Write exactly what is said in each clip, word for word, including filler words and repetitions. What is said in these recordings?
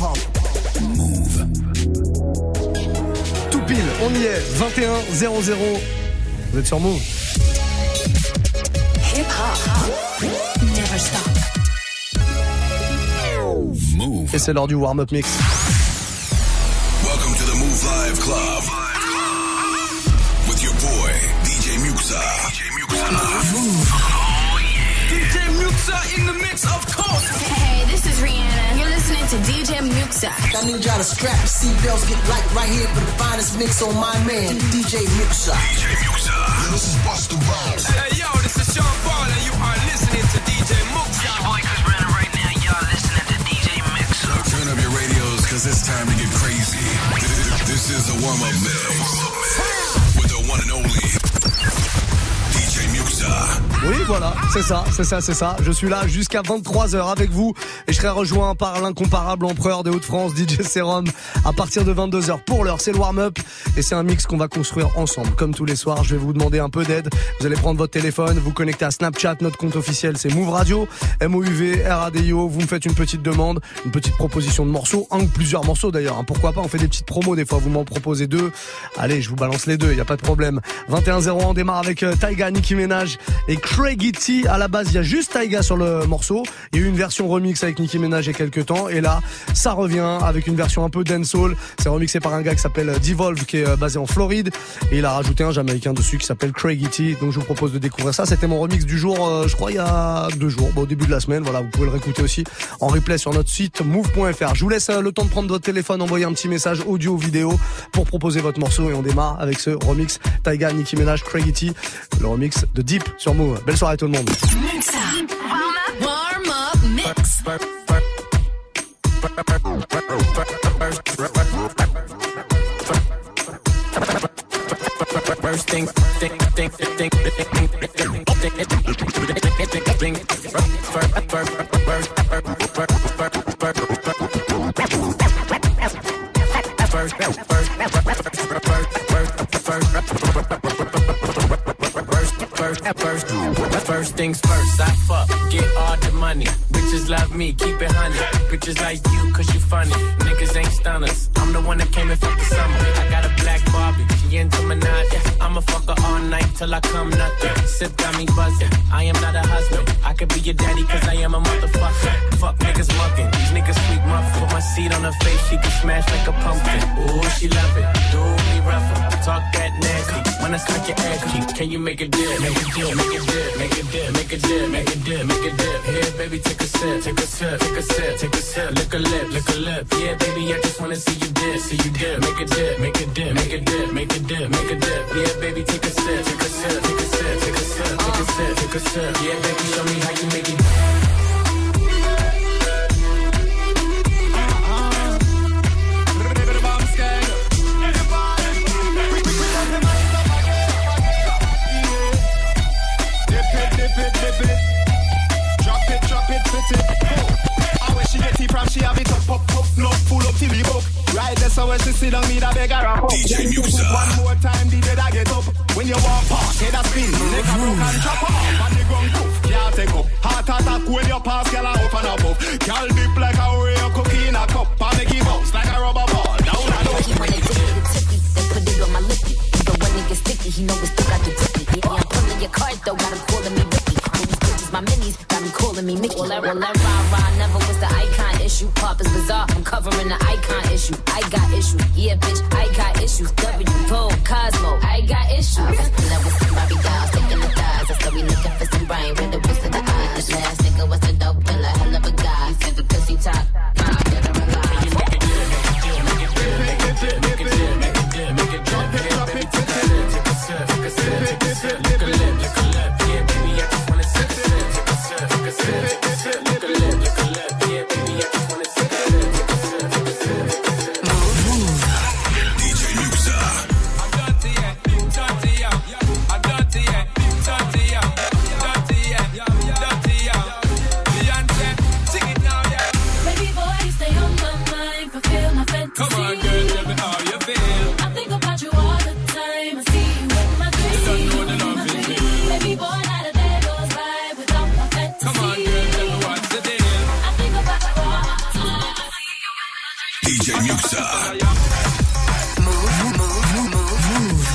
hip-hop. Move. Tout pile, on y est, vingt et un zéro zéro. Vous êtes sur Move. Hip-hop. Never stop. Move. Et c'est l'heure du warm-up mix. Welcome to the Move Live Club. With your boy, D J Muxa. D J Muxa. Move. Oh, yeah. D J Muxa in the mix, of course. Hey, this is Rihanna. You're listening to D J Muxa. I need y'all to strap your seatbelts, get light right here for the finest mix on my man, D J Muxa. D J Muxa. Yo, this is Busta Rhymes. Hey, yo, this is Sean Paul, and you are listening to D J Muxa. Your boy Chris Brennan right now. Y'all listening to D J Muxa. Turn up your radios, cause it's time to get crazy. This is the warm-up mix with the one and only D J Muxa. Oui, voilà, c'est ça, c'est ça, c'est ça. Je suis là jusqu'à vingt-trois heures avec vous et je serai rejoint par l'incomparable empereur des Hauts-de-France, D J Serum, à partir de vingt-deux heures. Pour l'heure, c'est le warm-up et c'est un mix qu'on va construire ensemble. Comme tous les soirs, je vais vous demander un peu d'aide. Vous allez prendre votre téléphone, vous connecter à Snapchat, notre compte officiel, c'est Move Radio, M O U V, R A D I O. Vous me faites une petite demande, une petite proposition de morceaux, un ou plusieurs morceaux d'ailleurs. Hein. Pourquoi pas, on fait des petites promos des fois, vous m'en proposez deux. Allez, je vous balance les deux, y a pas de problème. vingt et un zéro, on démarre avec euh, Tyga, Nicki Minaj et Craigie T. À la base, il y a juste Tyga sur le morceau. Il y a eu une version remix avec Nicki Minaj il y a quelques temps. Et là, ça revient avec une version un peu dancehall. C'est remixé par un gars qui s'appelle Devolve, qui est basé en Floride. Et il a rajouté un Jamaïcain dessus qui s'appelle Craigie T. Donc je vous propose de découvrir ça. C'était mon remix du jour, euh, je crois, il y a deux jours. Bon, au début de la semaine. Voilà, vous pouvez le réécouter aussi en replay sur notre site move point f r. Je vous laisse euh, le temps de prendre votre téléphone, envoyer un petit message audio ou vidéo pour proposer votre morceau. Et on démarre avec ce remix Tyga, Nicki Minaj, Craigie T. Le remix de Deep sur Move. Belle soirée tout le monde. Muxa. Warm up mix. First thing, think, think, think, think, think, First things first, I fuck, get all the money. Bitches love me, keep it honey. Bitches like you, cause you funny. Niggas ain't stunners. I'm the one that came and fucked the summer. I got a black Barbie, she into Minaj. I'ma fuck her all night till I come nothing. Sip got me buzzing. I am not a husband. I could be your daddy cause I am a motherfucker. Fuck niggas mugging. These niggas sweet muff. Put my seed on her face, she can smash like a pumpkin. Ooh, she love it. Do me rougher. Talk that nasty. When I smack your ass cheek, can you make a dip? Make a dip, make a dip, make a dip, make a dip, make a dip, make a dip. Here, baby, take a sip, take a sip, take a sip, take a sip. Lick a lip, lick a lip. Yeah, baby, I just wanna see you dip, see you dip. Make a dip, make a dip, make a dip, make a dip, make a dip. Yeah, baby, take a sip, take a sip, take a sip, take a sip, take a sip, take a sip. Yeah, baby, show me how you make it. She have it up, up, up, no, full up till we up. Right there, so when she sit down, me da beg her up. D J Muxa. One more time, D J da get up. When you walk past, head a spin, leg a broke and chop off. And the gun poof, can't take up. Heart attack when you pass, girl a up and above. Girl dip like a Oreo cookie in a cup. And make it bounce like a rubber ball. Down and up. He when they tippy, the tippy, they put it on my lippy. So when it gets sticky, he know we still got the tippy. Yeah, I'm pulling your card though, got him calling me Ricky. These bitches, my minis, got me calling me Mickey. Well, that rah rah never was the icon issue. Pop is bizarre, I'm covering the icon issue. I got issues, yeah, bitch, I got issues. W, Vogue, Cosmo, I got issues. And that was some Barbie dolls taking the thighs. I said we looking for some brain, with the wrist of the eyes. Last nigga was a dope killer, hell of a guy. Super pussy top, five, better realize. Make it dip, make it dip, make it dip, make it dip, make it dip, make it dip. Yeah, baby, take a sip, take a sip, take a sip, take a sip. Lick a lip, lick a lip. Yeah, baby, I just wanna sip, sip, take a sip, take a sip, take a sip. Lick a lip, lick a lip. Yeah, baby, I just wanna sip, sip, take a sip, take a sip, take a sip. D J Muxa. I'm dirty, yeah, dirty, yeah. I'm dirty, yeah, dirty, yeah, dirty, yeah, dirty, yeah. J Muxa. Move, move, move, move.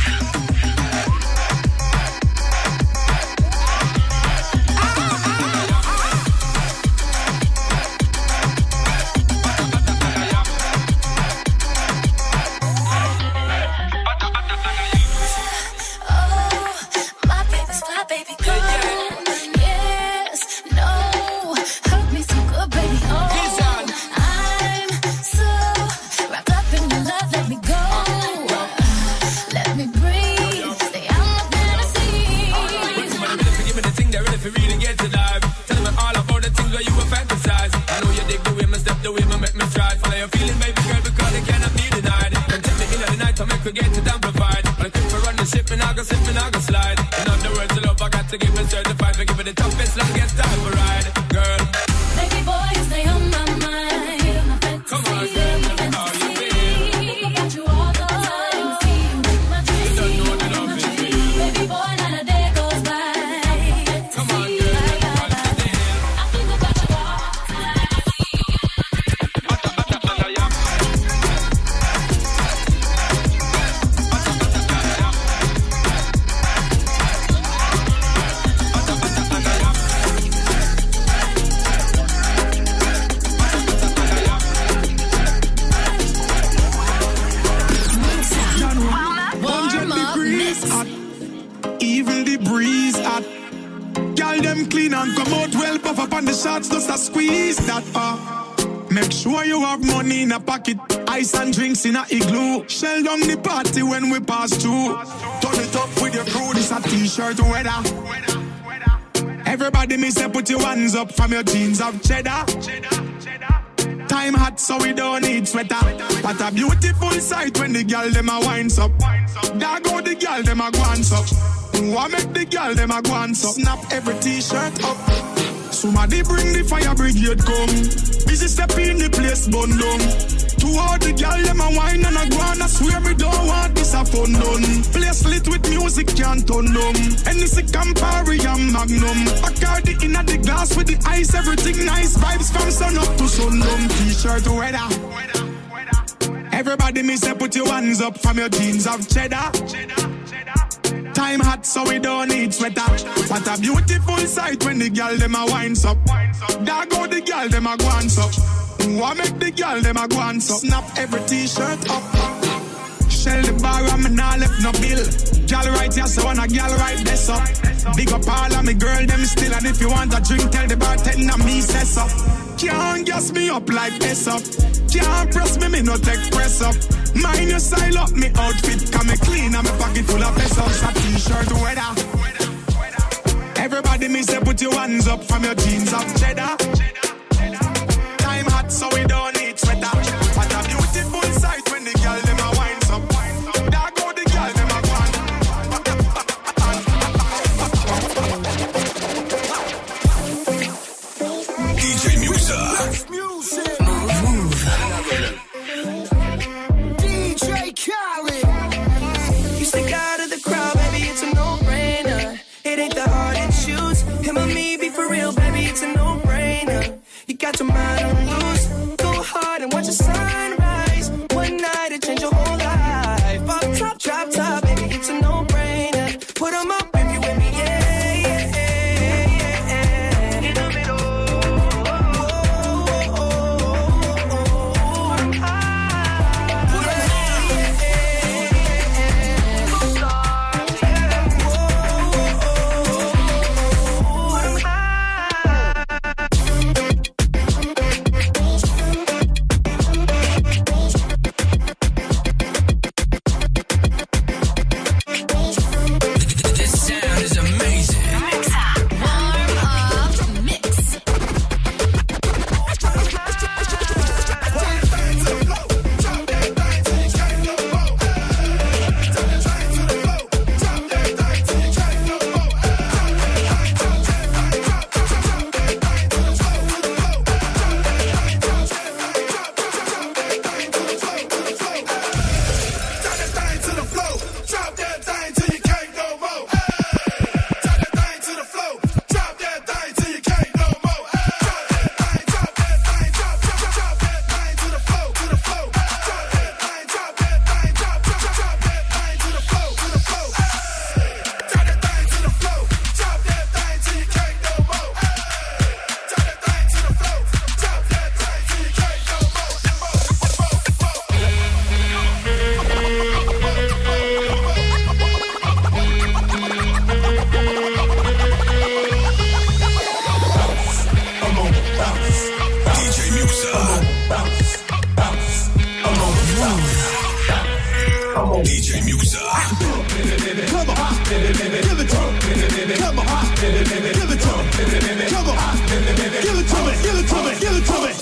Ice and drinks in a igloo. Shell down the party when we pass through. Turn it up with your crew. This a t-shirt weather. Everybody me say put your hands up from your jeans of cheddar. Time hot so we don't need sweater. What a beautiful sight when the girl dem a winds up. There go the girl dem a guans up. What make the girl dem a guans up? Snap every t-shirt up. Somebody bring the fire brigade come. Busy step in the place bun down. To all the girl, them a wine and a go on. I swear me don't want this a fun done. Place lit with music can't turn them. Hennessy, Campari and Magnum. Bacardi in the glass with the ice. Everything nice, vibes from sun up to sundown. T-shirt weather. Everybody me say put your hands up from your jeans of cheddar. Time hot so we don't need sweater. What a beautiful sight when the girl them a winds up. There go the girl them a guans up. What make the girl them a go and snap every t-shirt up. Shell the bar and me nah left no bill. Girl right here so when a girl right this up. Big up all of me girl them still. And if you want a drink tell the bartender me say so. Can't gas me up like this up. Can't press me me no take press up. Mind your style up me outfit. Come me clean and me pocket full of pesos. A t-shirt weather. Everybody me say put your hands up from your jeans of cheddar. So we don't need sweater. What a beautiful sight when the girl them a winds up. There go the girl them a gone. D J Muxa. Move. D J Khaled. You stick out of the crowd, baby, it's a no-brainer. It ain't the hard to choose. Him or me, be for real, baby, it's a no-brainer. You got your mind on loose. Go hard and watch the sunrise. One night it change your whole life. Up top, drop top, baby, it's a no-brainer. Put 'em up if you with me, yeah, yeah, yeah, yeah. In the middle. Oh, oh, oh, oh. I'm high. Put 'em high, yeah, yeah, yeah. Go stars, yeah. Oh, oh, oh, oh. I'm high. Muxa. Bounce, bounce, I'm on the bounce. D J Muxa. Come on, give it to me. Come on, give it to me. Come on, give it to me. Give it to me. Come on, give it to me. Give it to me. Give it to me. Give it to me.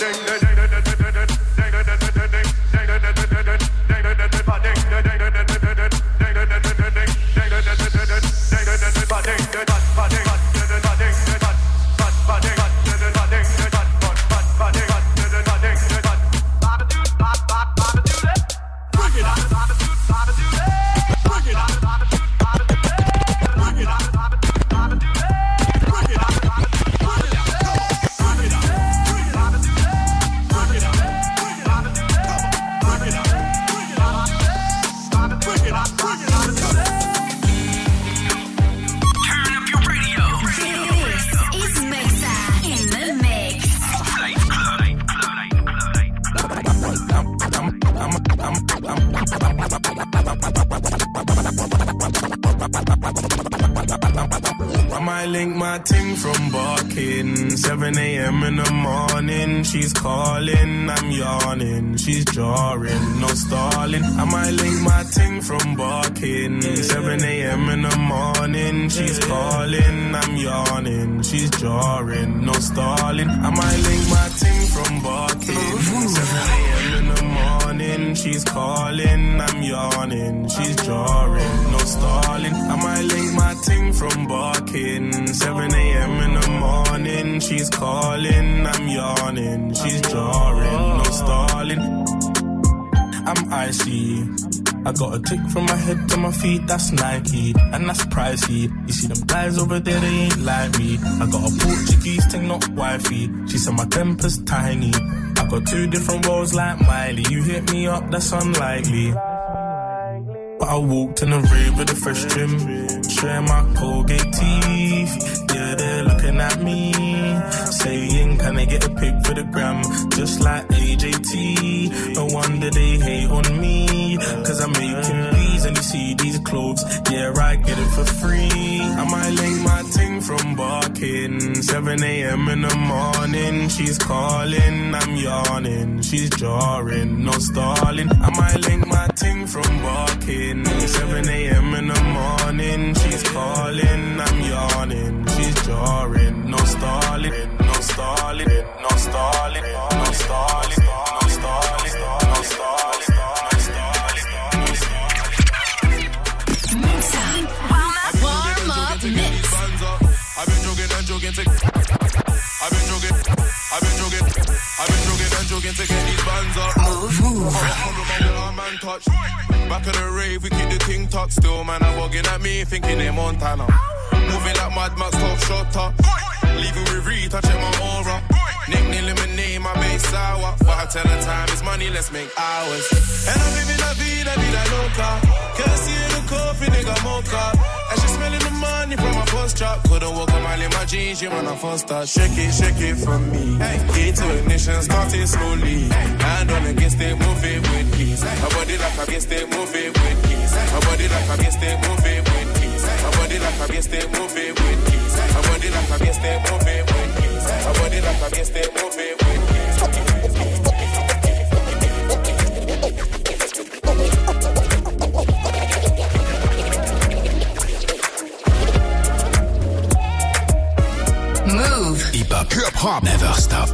seven a.m. in the morning, she's calling, I'm yawning, she's jarring, no stalling. I might link my ting from barking. seven a.m. in the morning, she's calling, I'm yawning, she's jarring, no stalling. I might link my ting from barking. seven a.m. in the morning, she's calling, I'm yawning, she's jarring, no stalling. I might link my ting from barking. seven a.m. in the morning, she's calling, I'm yawning, she's jarring, no stalling. I'm icy, I got a tick from my head to my feet, that's Nike, and that's pricey. You see them guys over there, they ain't like me. I got a Portuguese thing, not wifey. She said my temper's tiny. I got two different roles like Miley. You hit me up, that's unlikely. But I walked in a rave with a fresh trim, sharing my Colgate teeth. Yeah, they're looking at me, saying, can I get a pic for the gram? Just like A J T. No wonder they hate on me, cause I'm making bees and you see these clothes. Yeah, I get it for free. I might link my ting from barking. seven a.m. in the morning, she's calling, I'm yawning, she's jarring, no stalling. I might link my ting from barking. seven a.m. in the morning, she's calling, I'm yawning, she's jarring, no stalling, no stalling, no stalling, no stalling, no stalling, no stalling, no stalling. Warm up mix. I've been jogging and jogging to I've been jogging, I've been jogging, I've been jogging and jogging to get these bands up. Move, move. Man touch. Back of the rave, we keep the ting tucked. Still, man, I'm bugging at me, thinking they're Montana. Moving like Mad Max, top shutter. Leaving with Reed, I check my aura. Nickname lemonade, my base sour. But I tell her time is money, let's make hours. And I'm living la vida, vida loca. Can't see the coffee, nigga, mocha. And she smelling the money from my first drop. Couldn't walk a mile in my jeans, you man, I first start. Shake it, shake it for me. Key to ignition, start it slowly. Hand on against it, move it with peace. My body like against it, move it with peace. My body like against it, move it with peace. My body like against it, move it with peace. My body like against it, move it with peace. My body like against it, move it with peace. Move. Hip hop, hip hop, never stop.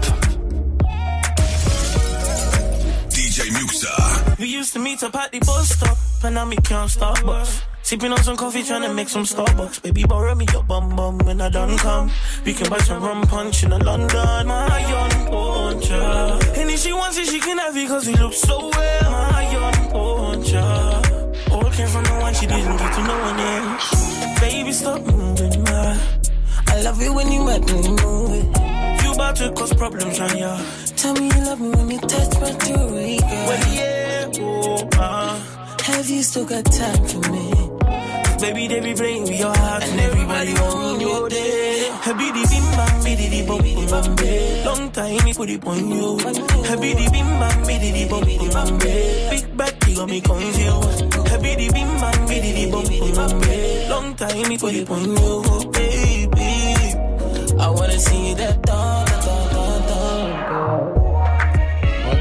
D J Muxa. We used to meet up at the bus stop, and now me can't stop bus. Sipping on some coffee, trying to make some Starbucks. Baby, borrow me your bum bum when I done come. We can buy some rum punch in a London. My young poncha. And if she wants it, she can have it, cause we look so well. My young poncha. All came from the one she didn't get to no one else. Baby, stop moving, man. I love it when you make me move it. You about to cause problems on ya. Tell me you love me when you touch my jewelry, girl. Well, yeah, oh, uh. Have you still got time for me? Baby, they be playing with your heart, and everybody on your day. Habidi bim bam, bididi bum bum bam. Long time we put it on you. Habidi bim bam, bididi bum bum bam. Big bad, you got me confused. Habidi bim bam, bididi bum bum bam. Long time we put it on you, baby. I wanna see that dawn, dawn, dawn, dawn.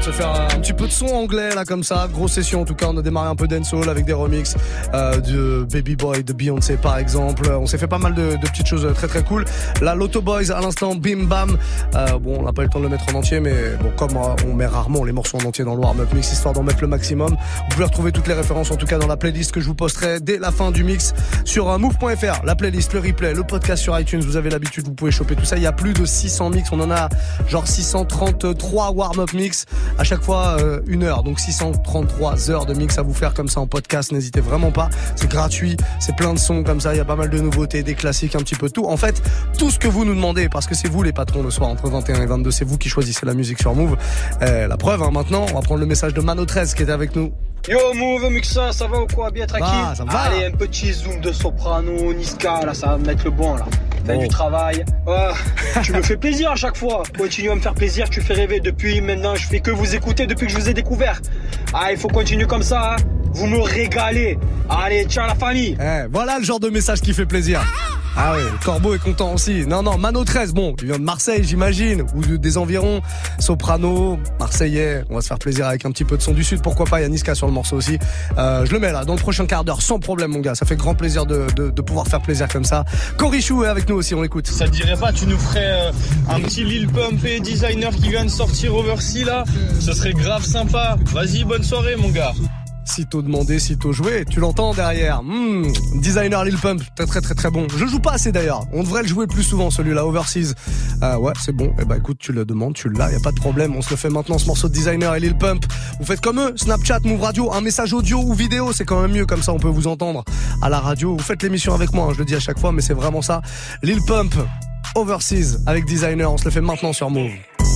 de se faire un petit peu de son anglais là comme ça, grosse session en tout cas. On a démarré un peu dancehall avec des remixes euh, de Baby Boy de Beyoncé par exemple. On s'est fait pas mal de, de petites choses très très cool. Là l'Auto Boys à l'instant, Bim Bam. Euh, bon, on n'a pas eu le temps de le mettre en entier, mais bon, comme on met rarement les morceaux en entier dans le warm-up mix histoire d'en mettre le maximum. Vous pouvez retrouver toutes les références en tout cas dans la playlist que je vous posterai dès la fin du mix sur move point f r. La playlist, le replay, le podcast sur iTunes. Vous avez l'habitude, vous pouvez choper tout ça. Il y a plus de six cents mix. On en a genre six cent trente-trois warm-up mix. À chaque fois euh, une heure. Donc six cent trente-trois heures de mix à vous faire comme ça en podcast. N'hésitez vraiment pas. C'est gratuit. C'est plein de sons comme ça. Il y a pas mal de nouveautés, des classiques, un petit peu tout. En fait, tout ce que vous nous demandez, parce que c'est vous les patrons le soir entre vingt et un et vingt-deux. C'est vous qui choisissez la musique sur Move. Euh, la preuve, hein, maintenant, on va prendre le message de Mano treize qui était avec nous. Yo Move Muxa, ça va ou quoi? Bien tranquille? Bah, ça va. Allez, un petit zoom de Soprano, Niska, là ça va me mettre le bon là. Fais bon. Du travail. Oh, tu me fais plaisir à chaque fois. Continue à me faire plaisir, tu fais rêver. Depuis maintenant, je fais que vous écouter depuis que je vous ai découvert. Ah, il faut continuer comme ça, hein. Vous me régalez. Allez, ciao la famille. Eh, voilà le genre de message qui fait plaisir. Ah oui, Corbeau est content aussi. Non, non, Mano treize, bon, il vient de Marseille, j'imagine, ou de, des environs. Soprano, Marseillais, on va se faire plaisir avec un petit peu de son du Sud, pourquoi pas, il y a Niska sur le morceau aussi. Euh, je le mets là, dans le prochain quart d'heure, sans problème, mon gars. Ça fait grand plaisir de, de, de pouvoir faire plaisir comme ça. Corichou est avec nous aussi, on l'écoute. Ça te dirait pas, tu nous ferais euh, un petit Lil Pump et Designer qui vient de sortir Oversea là? Ce serait grave sympa. Vas-y, bonne soirée, mon gars. Sitôt demandé, sitôt joué, tu l'entends derrière. Mmh, Designer Lil Pump, très très très très bon. Je joue pas assez d'ailleurs, on devrait le jouer plus souvent celui-là, Overseas. Euh, ouais, c'est bon, et eh bah écoute, tu le demandes, tu l'as, y a pas de problème, on se le fait maintenant ce morceau de Designer et Lil Pump. Vous faites comme eux, Snapchat, Move Radio, un message audio ou vidéo, c'est quand même mieux, comme ça on peut vous entendre à la radio. Vous faites l'émission avec moi, hein, je le dis à chaque fois, mais c'est vraiment ça. Lil Pump, Overseas avec Designer, on se le fait maintenant sur Move.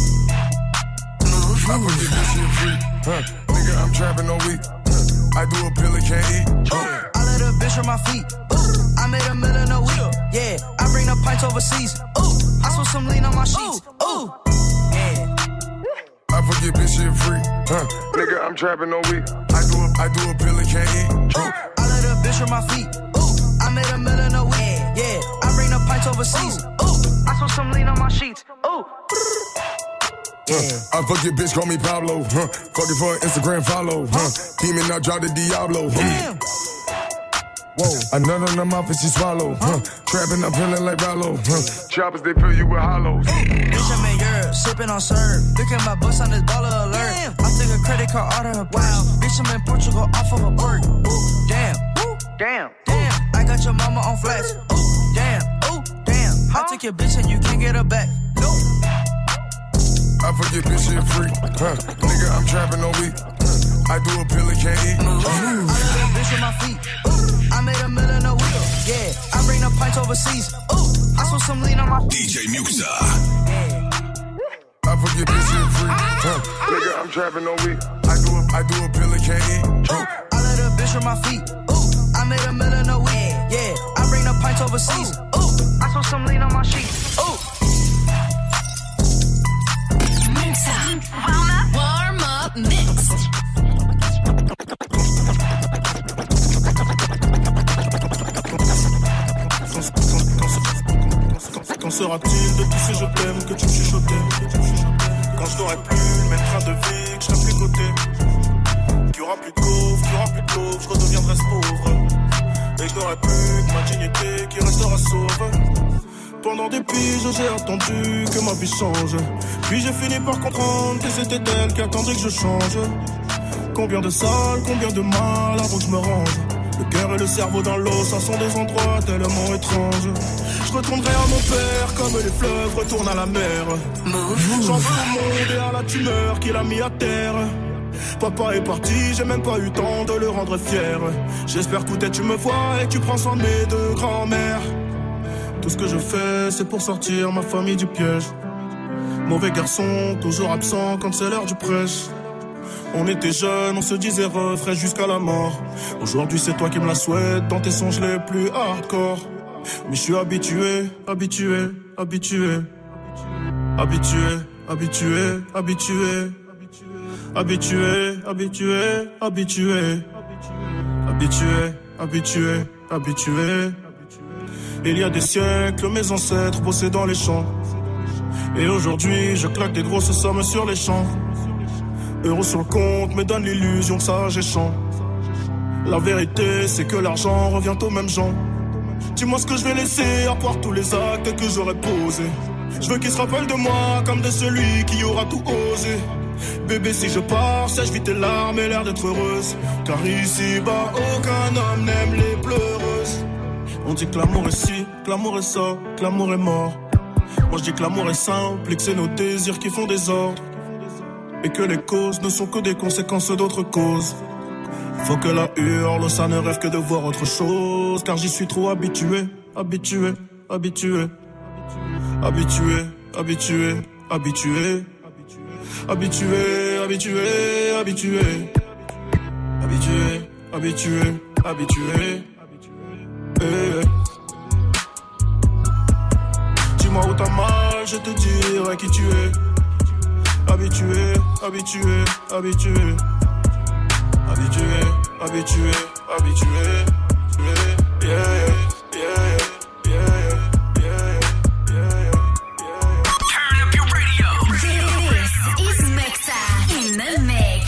I do a pill and can't eat. Ooh, I let a bitch on my feet. Ooh, I made a million a week. Yeah, I bring the pints overseas. Ooh, I saw some lean on my sheets. Ooh, yeah. I forget bitch shit free. Huh, nigga, I'm trapping no week. I do a, I do a pill and can't eat. Ooh, I let a bitch on my feet. Ooh, I made a million a week. Yeah, I bring the pints overseas. Ooh, I saw some lean on my sheets. Ooh. Yeah. Uh, I fuck your bitch, call me Pablo. Huh. Fuck it for an Instagram follow. Huh. Demon, I drop the Diablo. Damn. Whoa. A nut on the mouth and she swallow. Huh. Trapping, I'm feeling like Rollo. Huh. Choppers, they fill you with hollows. Bitch, I'm in Europe, sipping on syrup. Look at my bus on this baller alert. Damn. I took a credit card out of her purse. Wow. Bitch, I'm in Portugal off of a perk. Ooh, damn. Ooh, damn. Damn. I got your mama on flex. Ooh, damn. Ooh, damn. Huh? I took your bitch and you can't get her back. Nope. I forget bitch shit free. Huh. Nigga, I'm trapping no week. Huh. I do a pill and can't eat. Ooh. I let a bitch on my feet. Ooh. I made a million a week. Yeah, I bring the pints overseas. Ooh, I saw some lean on my feet. D J Muxa. I forget bitch shit free. Huh. Nigga, I'm trapping no week. I do a, I do a pill and can't eat. Huh. I let a bitch on my feet. Ooh, I made a million a week. Yeah, I bring the pints overseas. Ooh, I saw some lean on my sheets. Ooh. Warm up, warm up mix. Quand sera-t-il de tous ces je t'aime que tu me chuchotais? Quand je n'aurai plus le même train de vie, que je serai plus coté. Qu'il y aura plus de pauvres, qu'il y aura plus de pauvres, je redeviendrai pauvre. Et je n'aurai plus que ma dignité qui restera sauve. Pendant des piges, j'ai attendu que ma vie change. Puis j'ai fini par comprendre que c'était elle qui attendait que je change. Combien de salles, combien de mal avant que je me range. Le cœur et le cerveau dans l'eau, ça sont des endroits tellement étranges. Je retournerai à mon père comme les fleuves retournent à la mer. J'en veux au monde et à la tumeur qu'il a mis à terre. Papa est parti, j'ai même pas eu temps de le rendre fier. J'espère qu'outais tu me vois et tu prends soin de mes deux grands-mères. Tout ce que je fais, c'est pour sortir ma famille du piège. Mauvais garçon, toujours absent quand c'est l'heure du prêche. On était jeunes, on se disait refrain jusqu'à la mort. Aujourd'hui c'est toi qui me la souhaites dans tes songes les plus hardcore. Mais je suis habitué, habitué, habitué. Habitué, habitué, habitué. Habitué, habitué, habitué. Habitué, habitué, habitué. Il y a des siècles, mes ancêtres bossaient dans les champs. Et aujourd'hui, je claque des grosses sommes sur les champs. Euros sur le compte me donne l'illusion que ça j'échange. La vérité c'est que l'argent revient aux mêmes gens. Dis-moi ce que je vais laisser à part tous les actes que j'aurais posés. Je veux qu'ils se rappellent de moi comme de celui qui aura tout osé. Bébé si je pars, sèche vite tes larmes et l'air d'être heureuse. Car ici-bas aucun homme n'aime les pleureuses. On dit que l'amour est ci, que l'amour est ça, que l'amour est mort. Moi je dis que l'amour est simple et que c'est nos désirs qui font des ordres. Et que les causes ne sont que des conséquences d'autres causes. Faut que la hurle, ça ne rêve que de voir autre chose. Car j'y suis trop habitué, habitué, habitué. Habitué, habitué, habitué. Habitué, habitué, habitué. Habitué, habitué, habitué. Eh. Dis-moi où t'as mal, je te dirai qui tu es. Habitué, habitué, habitué. Habitué, habitué, habitué. Yeah, yeah, yeah, yeah, yeah, yeah, yeah. Turn up your radio. This is Mixa in the mix.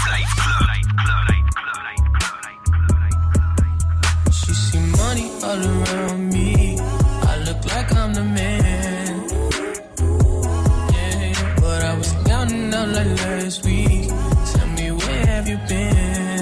She see money all around me. I look like I'm the man. Yeah, but I was counting out like last week. Tell me where have you been?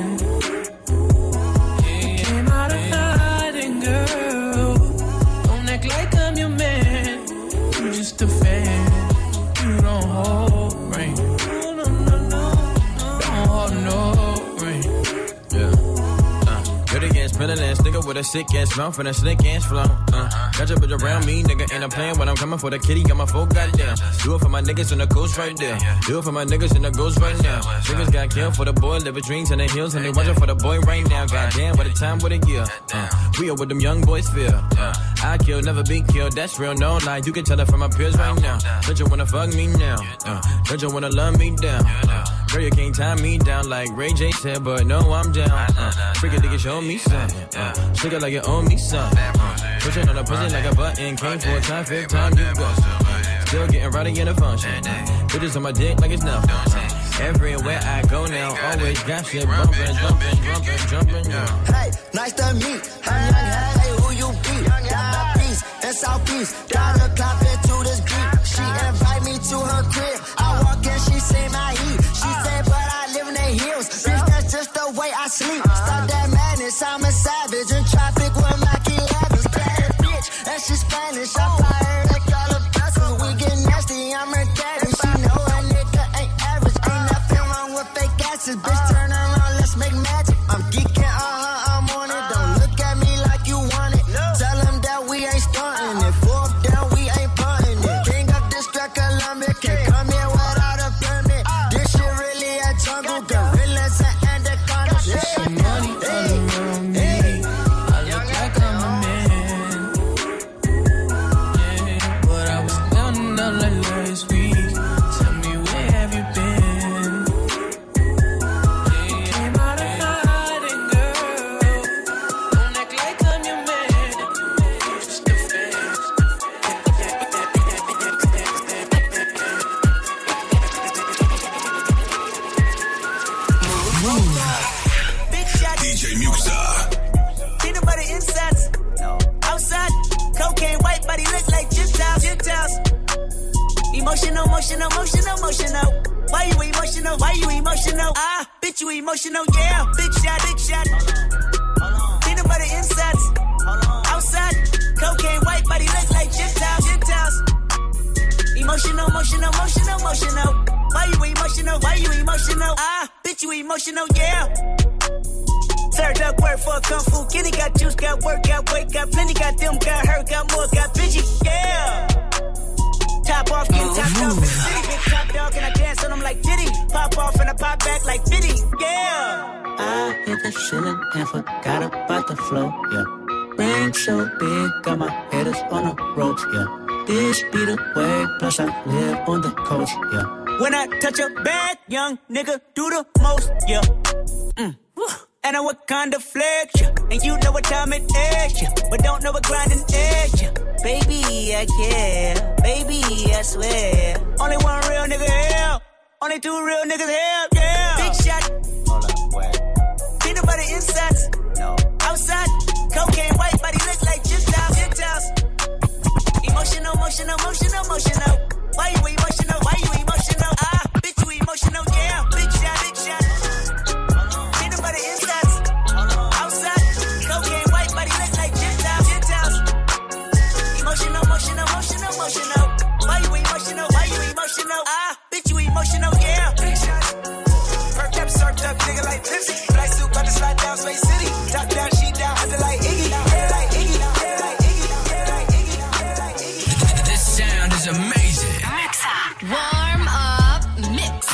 Nigga with a sick ass mouth and a slick ass flow. Uh, got your bitch around me, nigga, and I'm playing when I'm coming for the kitty. Got my folk goddamn. Do it for my niggas in the coast right there. Do it for my niggas in the ghost right now. Niggas got killed for the boy, living dreams in the hills, and they watching for the boy right now. Goddamn, what a time, what a year. Uh, we are what them young boys feel. Uh, I kill, never be killed. That's real, no lie. You can tell it from my peers right now. Don't you wanna fuck me now? Uh, don't you wanna love me down? Uh, girl, you can't tie me down like Ray J said, but no, I'm down. Uh, freaking nigga, show me something. Uh, Shake it like you owe me something. Uh, pushing on the pussy like a button. Came for a time, fifth time you go. Still getting rowdy in the function. Bitches on my dick like it's nothing. Uh, everywhere I go now, always got shit bumping, jumping, jumping, jumping. Yeah. Hey, nice to meet. I'm young, hey, who you be? Down east and southeast. Down the clock into this beat. She invite me to her crib. I walk in, she say my heat. She say, but I live in the hills. Bitch, that's just the way I sleep. Stop that madness, I'm a savage. In traffic with my key levels. Bad bitch, and she Spanish. I fly her like all the vessels. We get nasty, I'm her daddy. She know a nigga ain't average. Ain't nothing wrong with fake asses. Bitch, turn around, let's make magic. I'm geeking, uh-huh, I'm on it. Don't look at me like you want it. Tell them that we ain't stunting it. Fourth down, we ain't punting it. King of District Columbia, can't come here without a permit. This shit really a jungle. Gorillas and anacondas. She see money all around me. I look like I'm a man. Yeah, but I was counting out like last week. Tell me where have you been? Yeah, came out of hiding, girl. Don't act like I'm your man. You're just a fan. D J Muxa. Peanut butter insides. No. Outside, cocaine white body look like Gentiles. Gentiles. Emotional, emotional, emotional, emotional. Why you emotional? Why you emotional? Ah, bitch, you emotional, yeah. Big shot, big shot. Peanut butter insides. Outside, cocaine white body look like Gentiles. Gentiles. Emotional, emotional, emotional, emotional. Why you emotional? Why you emotional? Ah, bitch, you emotional, yeah. Served up work for a kung fu kitty. Got juice, got work, got weight, got plenty. Got them, got hurt, got more, got bitchy, yeah. Top off, get topped off in the city. Big top dog and I dance on them like Diddy. Pop off and I pop back like Diddy, yeah. I hit the ceiling and forgot about the flow, yeah. Rain so big, got my haters on the ropes, yeah. This be the way, plus I live on the coast, yeah. When I touch a bag, young nigga do the most, yeah. Mm. And I what kind of flex, yeah. And you know what time it is, yeah. But don't know what grinding is, yeah. Baby, I care. Baby, I swear. Only one real nigga here. Only two real niggas here, yeah. insets. No. Outside, cocaine white body look like Gentiles. Gentiles. Emotional, emotional, emotional, emotional. Why you emotional? Why you emotional? Ah, bitch, you emotional, yeah. Big shot, big shot. Ain't nobody insets. Outside, cocaine white body look like Gentiles. Gentiles. Emotional, emotional, emotional, emotional. Why you emotional? Why you emotional? Ah, bitch, you emotional, yeah. Big shots. Perked up, surfed up, nigga like Tipsy. Fly suit, about to slide down Space City. Top down, sheet down, under like Iggy. Head like Iggy, head like Iggy, head like Iggy, head like Iggy. This sound is amazing. Warm up mix.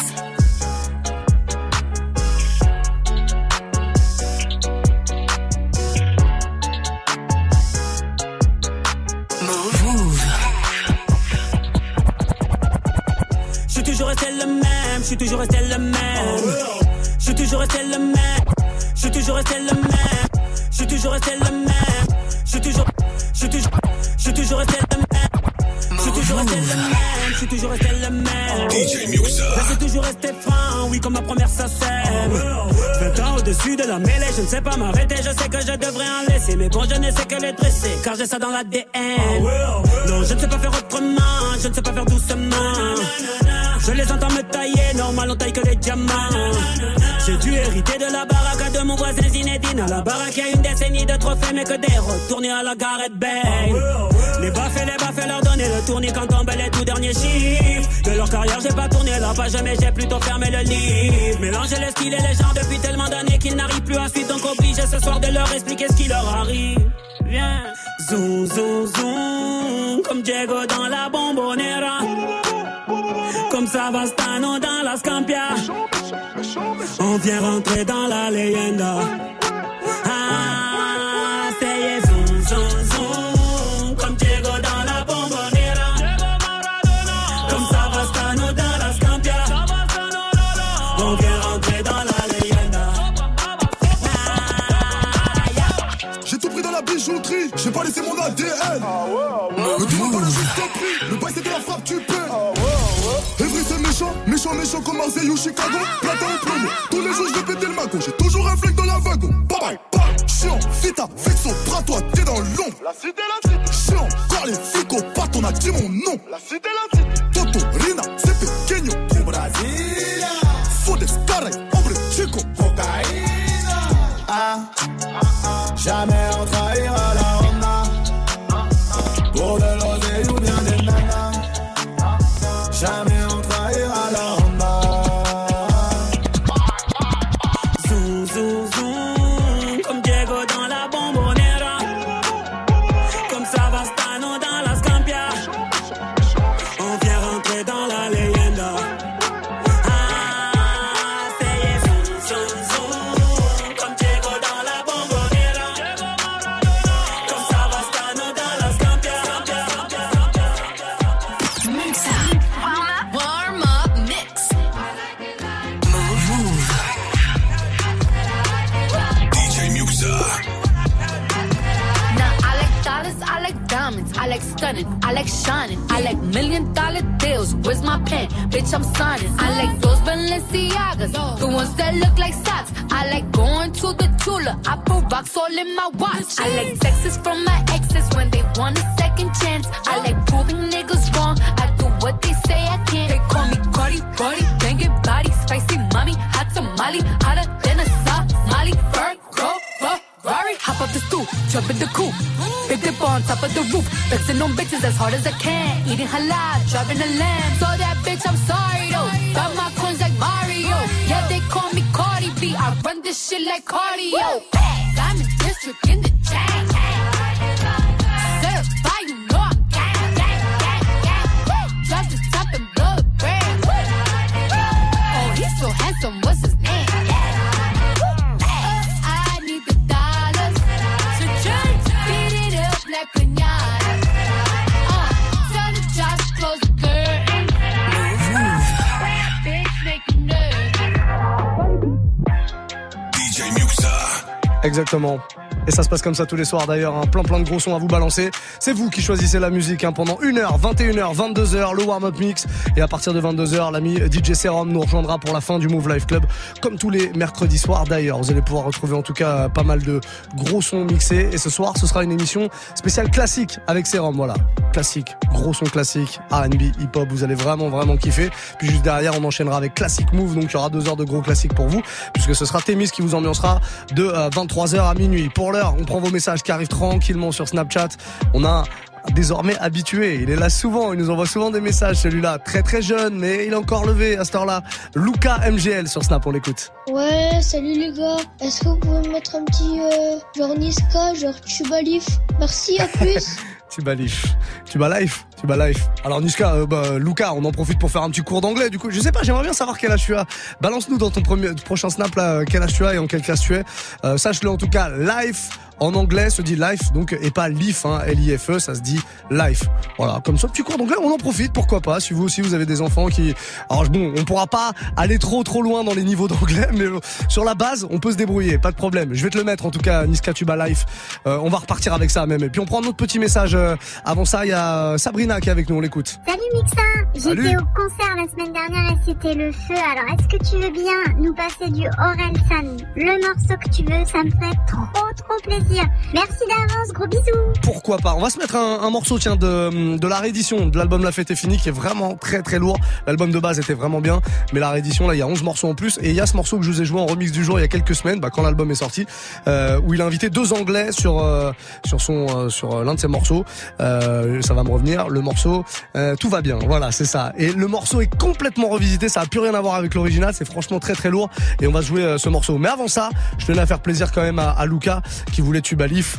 Je suis toujours resté le même, je suis toujours resté le même. Je suis toujours resté le même, je suis toujours resté le même. Je suis toujours resté le même, je suis toujours, je suis toujours, je suis toujours resté le même. Je suis toujours resté le même, je suis toujours resté le même. D J Muxxa. Je suis toujours resté franc, oui comme ma première sacème. vingt ans au-dessus de la mêlée, je ne sais pas m'arrêter, je sais que je devrais en laisser. Mais bon, je ne sais que les dresser, car j'ai ça dans l'A D N. Non, je ne sais pas faire autrement, je ne sais pas faire doucement. Je les entends me tailler, normal on taille que les diamants. J'ai dû hériter de la baraque de mon voisin Zinedine. À la baraque y'a une décennie de trophées, mais que des retournés à la Gareth Bale. Les baffes et les baffes leur donner le tournis quand tombent les tout derniers chiffres. De leur carrière j'ai pas tourné la page, mais j'ai plutôt fermé le livre. Mélanger les styles et les genres depuis tellement d'années qu'ils n'arrivent plus à suivre. Donc obligé ce soir de leur expliquer ce qui leur arrive. Viens, zoom, zoom, zoom, comme Diego dans la Bombonera. Comme Savastano dans la Scampia. On vient rentrer dans la leyenda. Ah, c'est zoom, zoom, zoom. Comme Diego dans la Bombonera. Comme Savastano dans la Scampia. On vient rentrer dans la leyenda. Ah, yeah. J'ai tout pris dans la bijouterie. J'ai pas laissé mon A D N. Ne demande pas le juste prix. Le bail c'est de la frappe, tu paies. Evry c'est méchant, méchant, méchant comme Marseille ou Chicago. Platin au plomo, tous les jours je vais péter le mago. J'ai toujours un flingue dans la wagon. Bye bye, bye. Chiant, vita, vexo, bras toi, t'es dans l'ombre. La cité, la cité. Chiant, encore les flics au pattes, on a dit mon nom. La cité, la cité. Toto, Rina, c'est pequeño. Du Brasilia. Fodes, caray, hombre, chico. Cocaïna. Ah, jamais on trahira la Honda. Pour de l'oseille ou bien des nanas. Jamais on trahira la Honda. Zoom, zoom, zoom, comme Diego dans la Bombonera. Comme Savastano dans la Scampia. On vient rentrer dans la leyenda. Ah, c'est zoom, zoom, zoom, comme Diego dans la Bombonera. Comme Savastano dans la Scampia. Warm up mix. D J Muxxa. Now I like dollars, I like diamonds, I like stunning, I like shining, I like million dollar deals. Where's my pen? Bitch, I'm signing. I like those Balenciagas, the ones that look like socks. I like going to the Tula, I put rocks all in my watch. I like texts from my exes when they want a second chance. I like proving niggas wrong, I do what they say I can't. They call me Cardi, Cardi, banging body, spicy mommy, hot tamale, hotter than a Somali. Virgo, Ferrari, hop up the stoop, jump in the coupe. Big dip on top of the roof, flexing on bitches as hard as I can. Eating halal, driving a lamb. So that bitch, I'm sorry though. Got my coins like Mario. Yeah, they call me Cardi B. I run this shit like cardio. Diamond district in the chain. Certified, you know I'm gang, gang, gang, gang. Drop the top and blow the brand. Oh, he's so handsome, what's his name? I need the dollars. So just beat it up like piñata. Uh, tell the jobs to close the curtain. Bitch, make you nervous. D J Muxxa. Exactement. Et ça se passe comme ça tous les soirs d'ailleurs, hein. plein plein de gros sons à vous balancer. C'est vous qui choisissez la musique hein, pendant une heure, vingt et une heures, vingt-deux heures, le warm-up mix. Et à partir de vingt-deux heures, l'ami D J Serum nous rejoindra pour la fin du Move Life Club, comme tous les mercredis soirs d'ailleurs. Vous allez pouvoir retrouver en tout cas pas mal de gros sons mixés. Et ce soir, ce sera une émission spéciale classique avec Serum, voilà. Classique, gros son classique, R and B, hip-hop, vous allez vraiment vraiment kiffer. Puis juste derrière, on enchaînera avec Classic Move, donc il y aura deux heures de gros classiques pour vous, puisque ce sera Thémis qui vous ambiancera de euh, vingt-trois heures à minuit. Pour l'heure, on prend vos messages qui arrivent tranquillement sur Snapchat. On a désormais habitué, il est là souvent, il nous envoie souvent des messages, celui-là, très très jeune, mais il est encore levé à cette heure-là. Luca M G L sur Snap, on l'écoute. Ouais, salut les gars, est-ce que vous pouvez me mettre un petit euh, genre Niska, genre Tubalif? Merci, à plus. Tuba Life, Tuba Life, Tuba Life. Alors Niska, euh, bah, Luca, on en profite pour faire un petit cours d'anglais. Du coup, je sais pas, j'aimerais bien savoir quel âge tu as. Balance-nous dans ton premier, prochain snap là, quel âge tu as et en quelle classe tu es. Euh, sache-le en tout cas, Life en anglais se dit life, donc et pas life, hein, L I F E, ça se dit life. Voilà, comme ça, petit cours d'anglais, on en profite, pourquoi pas. Si vous aussi vous avez des enfants qui, alors bon, on pourra pas aller trop trop loin dans les niveaux d'anglais, mais euh, sur la base, on peut se débrouiller, pas de problème. Je vais te le mettre en tout cas, Niska Tuba Life. Euh, on va repartir avec ça même. Et puis on prend un autre petit message. Euh, avant ça, il y a Sabrina qui est avec nous, on l'écoute. Salut Mixa, j'étais au concert la semaine dernière et c'était le feu. Alors est-ce que tu veux bien nous passer du Orelsan, le morceau que tu veux, ça me ferait trop trop plaisir. Merci d'avance, gros bisous. Pourquoi pas. On va se mettre un, un morceau tiens de, de la réédition de l'album La Fête est finie qui est vraiment très très lourd. L'album de base était vraiment bien, mais la réédition là il y a onze morceaux en plus et il y a ce morceau que je vous ai joué en remix du jour il y a quelques semaines, bah, quand l'album est sorti, euh, où il a invité deux Anglais sur euh, sur son euh, sur l'un de ses morceaux. Euh, ça va me revenir. Le morceau euh, Tout va bien. Voilà, c'est ça. Et le morceau est complètement revisité. Ça a plus rien à voir avec l'original. C'est franchement très très lourd et on va jouer euh, ce morceau. Mais avant ça, je tenais à faire plaisir quand même à, à Luca qui voulait Tuba Life,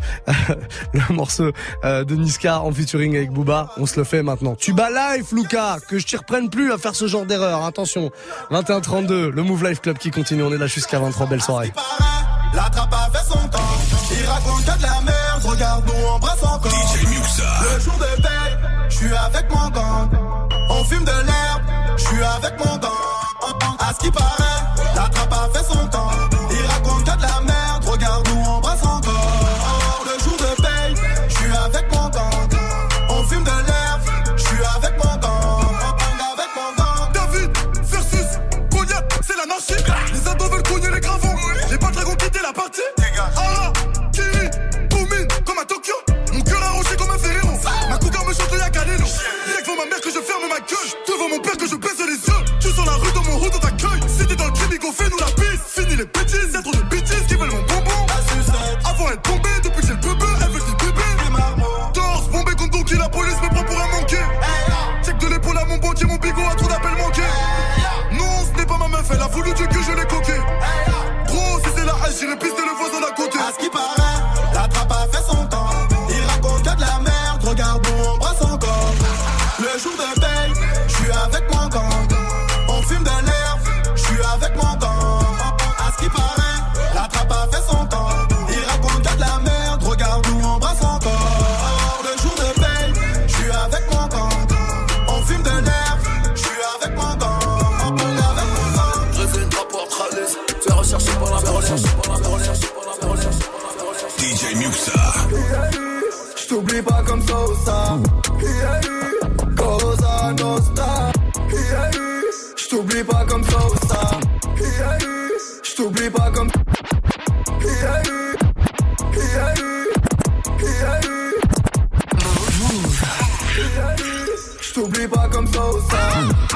le morceau euh, de Niska en featuring avec Booba. On se le fait maintenant. Tuba Life, Luca, que je t'y reprenne plus à faire ce genre d'erreur. Attention, vingt et un trente-deux, le Move Life Club qui continue. On est là jusqu'à vingt-trois. Belle soirée. La trappe a fait son temps. Il raconte que de la merde. Regarde, nous embrasse encore. D J Muxa. Le jour de veille, je suis avec mon gang. On fume de l'herbe, je suis avec mon gang. À ce qui paraît, la trappe a fait son temps. Il raconte que de la merde. Regarde, nous embrasse encore. Le jour de veille, je suis avec mon gang. On fume de l'herbe, je suis avec mon gang. Avec mon gang. David versus Goliath, c'est l'anarchie. Les ados veulent cogner les gravons. Les pas dragons quitter la partie. Ara, Kiri, Boumine, comme à Tokyo. Mon cœur arrangé comme un Ferrero. Ma cougar me chante le Yakaleno. Y'a que devant ma mère que je ferme ma gueule. Devant mon père que je baisse les yeux. Tu sens la rue dans mon route dans ta cueille. Si t'es dans le chimico, fais-nous la piste. Fini les bêtises, y'a trop de bêtises qui veulent mon bonbon. Avant elle tombée, depuis que j'ai le bébé, elle veut du bébé. Torse, bombé contre Donkey, la police me prend pour un manqué. Check de l'épaule à mon banquier, mon bigot a trop d'appels manqués. Non, ce n'est pas ma meuf, elle a voulu du cul, je l'ai coqué. Gros, si c'est la hache, j'irai pister le voisin d'à côté. À ce qui paraît, la trappe a fait son temps. Il raconte que de la merde, regarde, nous embrasse encore. Le jour de veille, je suis avec mon gang. On fume de l'herbe, je suis avec mon gang. À ce qui paraît, la trappe a fait son temps. Il raconte que de la merde, regarde, nous embrasse encore. Le jour de veille, je suis avec mon gang. On fume de l'herbe, je suis avec mon gang. J'ai fait une trappe pour Tralis. Fais rechercher pour la police. D J Muxa. J't'oublie pas comme ça ou ça. Cosa Nostra. J't'oublie pas comme ça ou ça. J't'oublie pas comme. J't'oublie pas comme ça ou ça.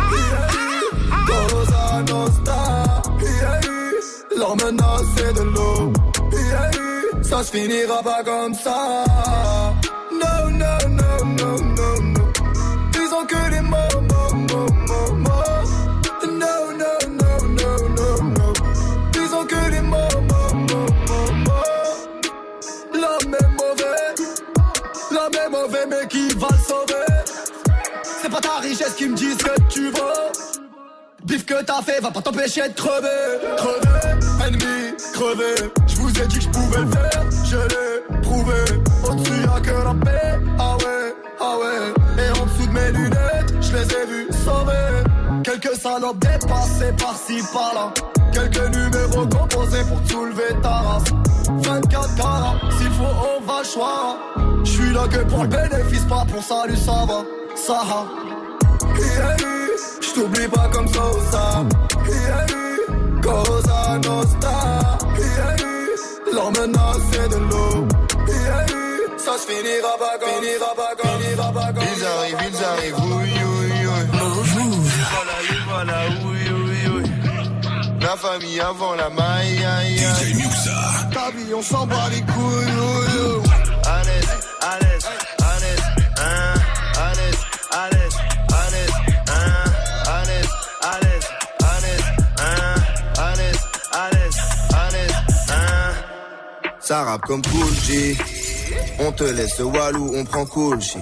Cosa Nostra. Leur menace c'est de l'eau. Ça se finira pas comme ça. No, no, no, no, no, no. Ils ont que des mots, mots, mots, mots, mots. No, no, no, no, no, no. Ils ont que des mots, mots, mots, mots, mots. L'homme est mauvais. L'homme est mauvais, mais qui va le sauver? C'est pas ta richesse qui me dit ce que tu veux. Bif que t'as fait va pas t'empêcher de crever. Crever, ennemi, crever. J'vous ai dit que j'pouvais le faire, je l'ai prouvé. Au-dessus y'a que la paix, ah ouais, ah ouais. Et en dessous de mes lunettes, j'les ai vus sauver. Quelques salopes dépassées par-ci par-là. Quelques numéros composés pour te soulever ta race. vingt-quatre carats, s'il faut on va choir. J'suis là que pour le bénéfice, pas pour salut, ça va, ça va. Yeah, j't'oublie pas comme ça ou ça. Yeah, Cosa Nostra. Yeah, l'or maintenant c'est de l'eau. Yeah, ça se finira pas comme, finira pas comme, finira pas comme. Ils arrivent, ils arrivent, oui, oui, oui. Voilà, les voilà, oui, oui, oui. La famille avant la maille, aïe, aïe. D J Muxa. Ta vie, on s'en bat les couilles, oui, oui. À l'aise, à l'aise, à l'aise, hein. À l'aise, à l'aise, à l'aise, hein. À l'aise, à l'aise, à l'aise, hein. À l'aise, à l'aise, à l'aise, hein. Ça rappe comme Cool G. On te laisse Walou, on prend Cool G.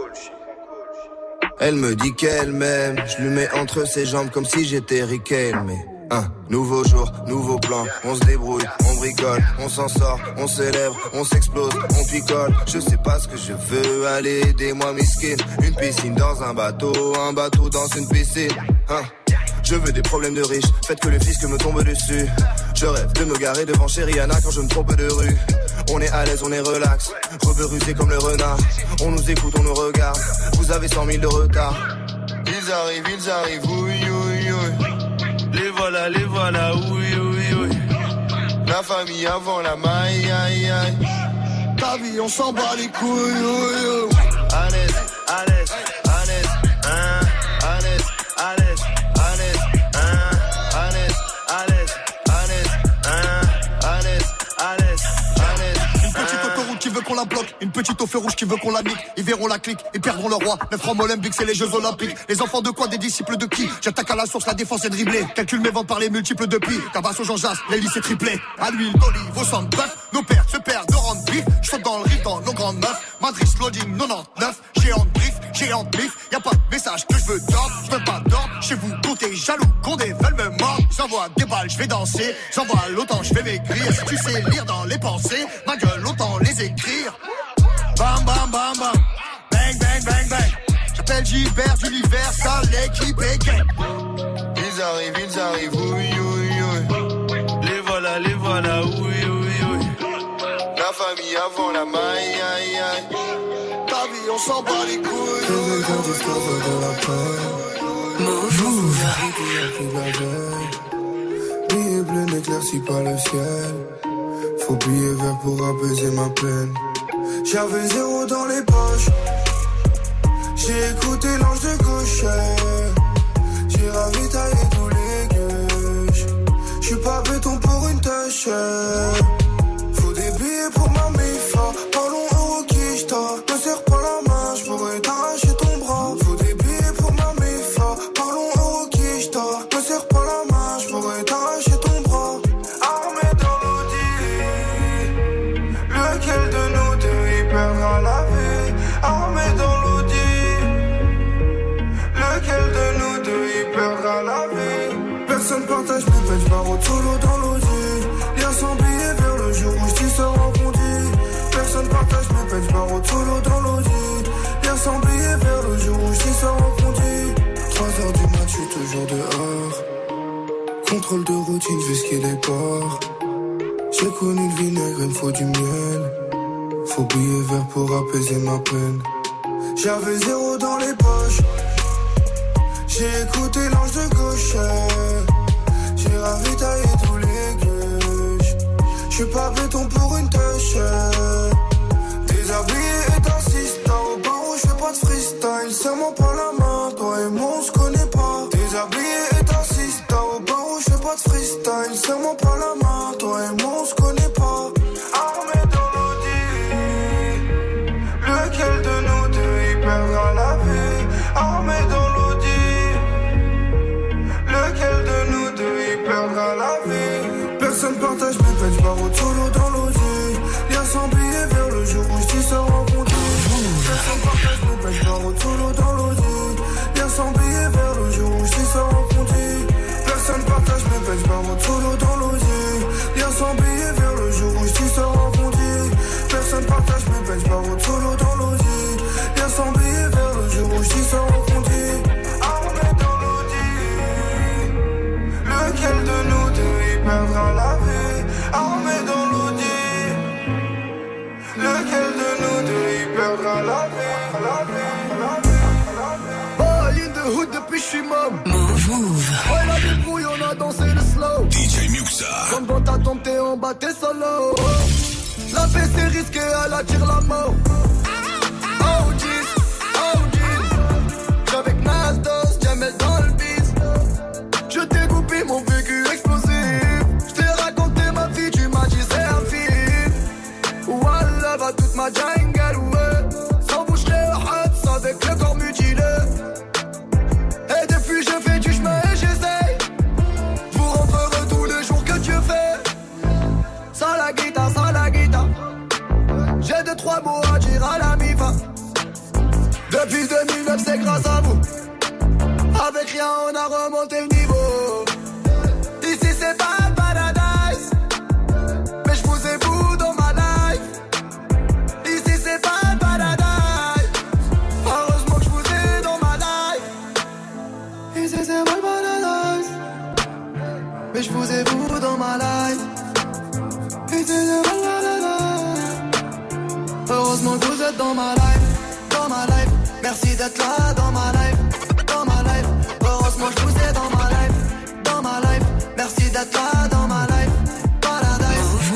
Elle me dit qu'elle m'aime, je lui mets entre ses jambes comme si j'étais Riquelme. Mais un nouveau jour, nouveau plan, on se débrouille, on bricole, on s'en sort, on célèbre, on s'explose, on picole. Je sais pas ce que je veux, allez aidez-moi miskin. Une piscine dans un bateau, un bateau dans une piscine, hein. Je veux des problèmes de riches, faites que le fisc me tombe dessus. Je rêve de me garer devant chez Rihanna quand je me trompe de rue. On est à l'aise, on est relax, rebeu rusé comme le renard. On nous écoute, on nous regarde, vous avez cent mille de retard. Ils arrivent, ils arrivent, oui, oui, oui. Les voilà, les voilà, oui, oui, oui. La famille avant la maille, aïe, aïe. Ta vie, on s'en bat les couilles, oui, oui. À l'aise, à l'aise, à l'aise, hein. À l'aise, à l'aise. Qui veut qu'on la bloque, une petite au feu rouge qui veut qu'on la nique. Ils verront la clique, ils perdront leur roi. Neuf francs olympiques, c'est les Jeux Olympiques. Les enfants de quoi, des disciples de qui? J'attaque à la source, la défense est dribblée. Calcule mes ventes par les multiples de pi. Tabasse au Jean Jass, les lycées triplés. À l'huile d'olive, au sang de bœuf. Nos pères se perdent de rendre bif. J'saute dans le riff dans nos grandes meufs. Madrid loading quatre-vingt-dix-neuf. Géant de brief, géant de bif. Y'a pas de message que je veux d'ordre. J'veux pas d'ordre. Chez vous, comptez jaloux, condés veulent me mordre. J'envoie des balles, j'vais danser. J'envoie l'autant, j'vais m'écrire. Si tu sais lire dans les pensées, ma gueule, autant les écrire. Bam bam bam bam, bang bang bang bang. J'appelle Gilbert d'Universal, l'équipe est gang. Ils arrivent, ils arrivent, oui oui oui. Les voilà, les voilà, oui oui oui. La famille avant la maille, aïe aïe. Ta vie, on s'en bat les couilles. Les gens discovery de la peur. Move. Billet bleu n'éclaircit pas le ciel. Faut billet vert pour apaiser ma peine. J'avais zéro dans les poches. J'ai écouté l'ange de gauche. J'ai ravitaillé tous les gueuches. J'suis pas béton pour une tâche. Faut des billets pour ma méfa. Parlons euro qui j't'a. Me serre pas la main, j'pourrais t'arracher ton bras. Faut des billets pour ma méfa. Parlons euro qui j't'a. Me serre pas la main, j'pourrais t'arracher ton bras. Armé dans l'audi. Lequel de nous deux perdra la vie, armé dans l'audi. Lequel de nous deux y perdra la vie. Personne partage mes peines, j'barre solo dans l'audi. Lien sans billet vers le jour où j't'y sors en conduit. Personne partage mes peines, j'barre solo dans l'audi. Lien sans billet vers le jour où j't'y sors en conduit. Trois heures du mat, j'suis toujours dehors. Contrôle de routine, j'vais skier les ports. J'ai connu le vinaigre, il me faut du miel. Faut billet vert pour apaiser ma peine. J'avais zéro dans les poches. J'ai écouté l'ange de gauche. J'ai ravitaillé tous les gueuches. J'suis pas béton pour une tâche. Déshabillé et insistant. Au barreau j'fais pas de freestyle. Serre-moi pas la main, toi et moi on se connaît pas. Déshabillé et insistant. Au barreau j'fais pas de freestyle. Serre-moi pas la main, toi et moi on se connaît pas. Armé dans l'audi. Lequel de nous deux y perdra la vie? Armé dans l'audi. Lequel de nous deux y perdra la vie? Personne partage mes peines, j'barre solo dans l'audi. Lien sans billet vers le jour où j't'y sors en conduit. Personne partage mes peines, j'barre solo dans l'audi. Lien sans billet vers le jour où j't'y sors en conduit. Personne partage mes peines, j'barre solo dans l'audi. Lien sans billet vers le jour où j't'y sors en conduit. Personne partage mes peines, j'barre solo dans l'audi. Lien sans billet vers le jour où j't'y sors en conduit. Armé dans l'audi. Lequel de nous deux maximum. Move, move. Ouais, la débrouille, on a dansé le slow. D J Muxa. Comme dans ta tombe, t'es en bas, t'es solo. La paix c'est risqué, elle attire la mort. Oh jeez, oh jeez. J'avais Nasdos, Jamel dans le bis. Je t'ai coupé mon vécu explosif. Je t'ai raconté ma vie, tu m'as dit c'est un film. Wallah, va toute ma jungle, ouais. Sans bouche les hats, avec le corps mutilé. Et depuis je fais du chemin et j'essaye. Vous rentrer tous les jours que Dieu fait. Ça la guitare, ça la guitare. J'ai deux trois mots à dire à la mi-fin. Depuis deux mille neuf c'est grâce à vous. Avec rien on a remonté le niveau. Ici c'est pas un paradise, mais je vous ai vous dans ma life. Ici c'est pas un paradise, heureusement que je vous ai dans ma life. Ici c'est pas un paradise, mais je vous ai vous dans ma life. Ici c'est pas un paradise, heureusement que vous êtes dans ma life. Dans ma life, merci d'être là dans ma life. Dans ma life, heureusement je vous ai dans ma life. Dans ma life, merci d'être là dans ma life. Paradise.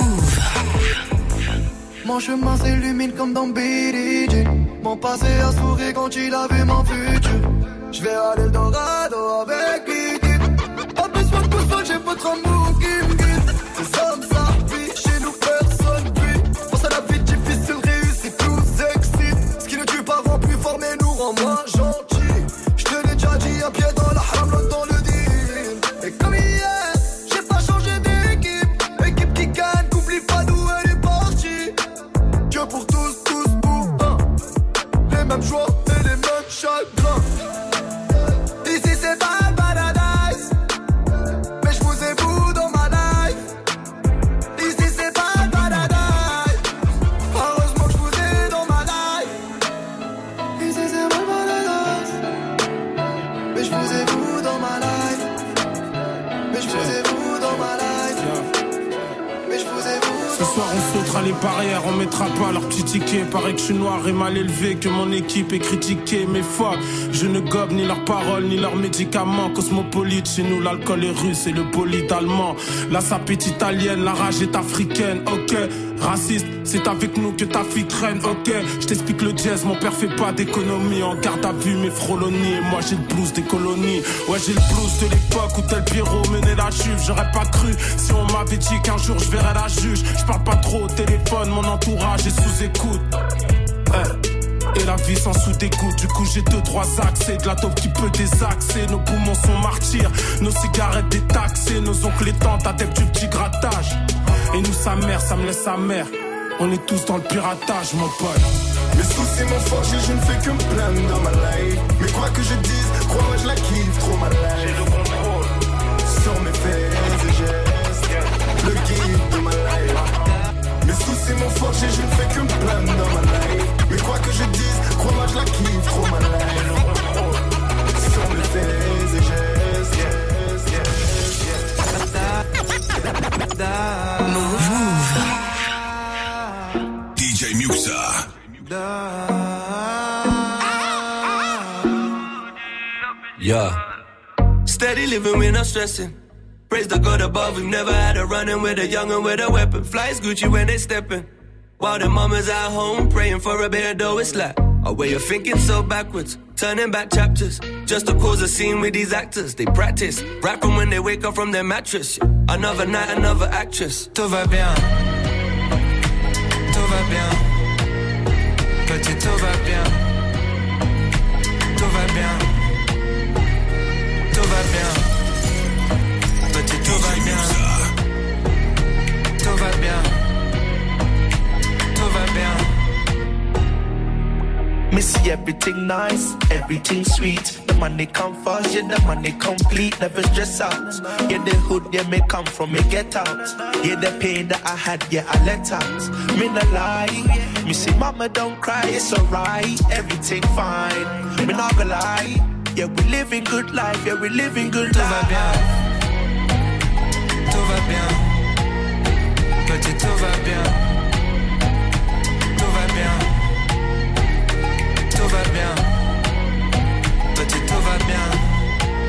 Mon chemin s'illumine comme dans Billie Jean. Mon passé a souri quand il a vu mon futur. Je vais à l'Eldorado avec l'équipe. Pas besoin de pouce, j'ai votre amour qui me guide. C'est comme ça, puis chez nous personne brille. Pense à la vie difficile, réussit, tout s'excite. Ce qui ne tue pas rend plus fort mais nous rend moins gentils. Je te l'ai déjà dit, un pied dans la haram, l'autre dans le deal. Et comme hier, j'ai pas changé d'équipe. Équipe qui gagne, n'oublie pas d'où elle est partie. Dieu pour tous, tous pour un. Les mêmes joies et les mêmes chagrins. Ici c'est pas un paradise, mais je vous ai vous dans ma life. Ici c'est pas un paradise, heureusement que je vous ai dans ma life. Ici c'est pas un paradise, mais je vous ai vous dans ma life. Mais je vous ai vous dans ma life. Mais je vous ai vous. Ce soir on sautera les barrières, on mettra pas leur petit ticket. Paraît que je suis noir et mal élevé, que mon équipe est critiquée. Mais fuck, je ne gobe ni leurs paroles ni leurs médicaments. Cosmopolite, chez nous l'alcool est russe et le bolide allemand. La sape est italienne, la rage est africaine, ok. Raciste, c'est avec nous que ta fille traîne, ok. Je t'explique le jazz, mon père fait pas d'économie. En garde à vue mes frolonies, et moi j'ai le blues des colonies. Ouais j'ai le blues de l'époque où tel Pierrot menait la juve. J'aurais pas cru si on m'avait dit qu'un jour je verrais la juge. Je parle pas trop au téléphone, mon entourage est sous écoute. Hey. Et la vie sans sous-écoute. Du coup j'ai deux, trois accès. De la taupe qui peut désaxer. Nos poumons sont martyrs, nos cigarettes détaxées. Nos oncles et tantes adeptes du petit grattage. Et nous sa mère, ça me laisse sa mère. On est tous dans le piratage mon pote. Mes soucis m'ont forgé, je ne fais que me plaindre dans ma life. Mais quoi que je dise, crois-moi je la kiffe trop ma life. J'ai le contrôle sur mes faits et gestes, le guide de ma life. Mes soucis m'ont forgé, je ne fais que me plaindre dans ma life. Mais quoi que je dise, crois-moi je la kiffe trop ma life. Sur mes faits et gestes, yes, yes, yes. Move. D J Muxa. Yeah. Steady living, we're not stressing. Praise the God above, we've never had a run-in with a young'un with a weapon. Flies Gucci when they steppin', while the mama's at home praying for a better dough. It's like a way of thinking so backwards, turning back chapters, just to cause a scene with these actors. They practice, rap from when they wake up from their mattress. Another night, another actress. Tout va bien, tout va bien, petit tout va bien, tout va bien, tout va bien, petit tout va bien, tout va bien, tout va bien. Me see everything nice, everything sweet. The money come fast, yeah, the money complete. Never stress out. Yeah, the hood, yeah, me come from, me get out. Yeah, the pain that I had, yeah, I let out. Me no lie. Me say, mama, don't cry, it's alright. Everything fine. Me not gonna lie. Yeah, we living good life, yeah, we living good tout life. Va bien. Tout va bien. Petit, tout va bien. Tout va bien. Tout va bien, petit tout va bien,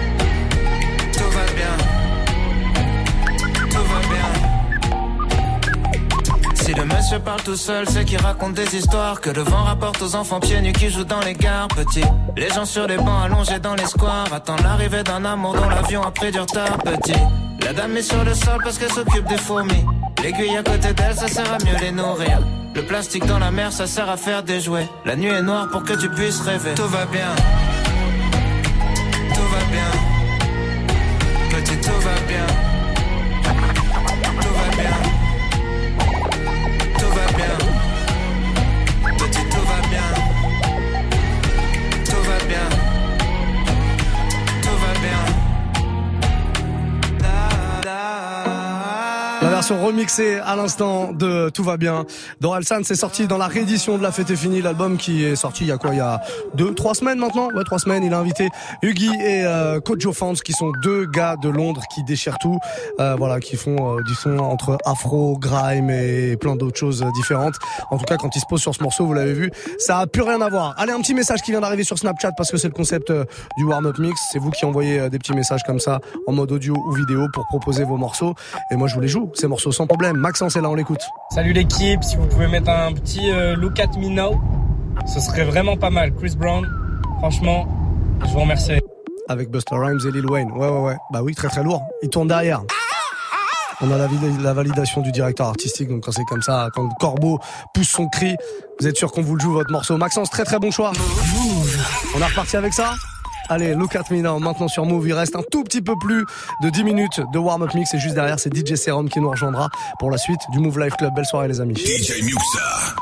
se parle tout seul, c'est qui raconte des histoires que le vent rapporte aux enfants pieds nus qui jouent dans les gares. Petit, les gens sur les bancs allongés dans les squares attendent l'arrivée d'un amour dont l'avion a pris du retard. Petit, la dame est sur le sol parce qu'elle s'occupe des fourmis. L'aiguille à côté d'elle, ça sert à mieux les nourrir. Le plastique dans la mer, ça sert à faire des jouets. La nuit est noire pour que tu puisses rêver. Tout va bien, tout va bien, petit, tout va bien, tout va bien, tout va bien, petit, tout va bien, tout va bien, tout va bien. La version remixée à l'instant de Tout va bien d'Orelsan, c'est sorti dans la réédition de La Fête est finie, l'album qui est sorti il y a quoi, il y a deux, trois semaines maintenant, ouais, trois semaines. Il a invité Huggy et euh, Kojo Fans, qui sont deux gars de Londres qui déchirent tout, euh, voilà, qui font euh, du son entre afro, grime et plein d'autres choses différentes. En tout cas, quand ils se posent sur ce morceau, vous l'avez vu, ça a plus rien à voir. Allez, un petit message qui vient d'arriver sur Snapchat parce que c'est le concept euh, du warm-up mix. C'est vous qui envoyez euh, des petits messages comme ça en mode audio ou vidéo pour proposer vos morceaux, et moi je vous les joue ces morceaux sans problème. Maxence est là, on l'écoute. Salut l'équipe, si vous pouvez mettre un petit euh, Look at Me Now, ce serait vraiment pas mal. Chris Brown, franchement, je vous remercie. Avec Busta Rhymes et Lil Wayne. Ouais, ouais, ouais. Bah oui, très très lourd. Il tourne derrière. On a la, la validation du directeur artistique, donc quand c'est comme ça, quand le corbeau pousse son cri, vous êtes sûr qu'on vous le joue votre morceau. Maxence, très très bon choix. On est reparti avec ça. Allez, Look at Me Now, maintenant sur Move. Il reste un tout petit peu plus de dix minutes de warm-up mix, et juste derrière, c'est D J Serum qui nous rejoindra pour la suite du Move Life Club. Belle soirée les amis. D J Muxa.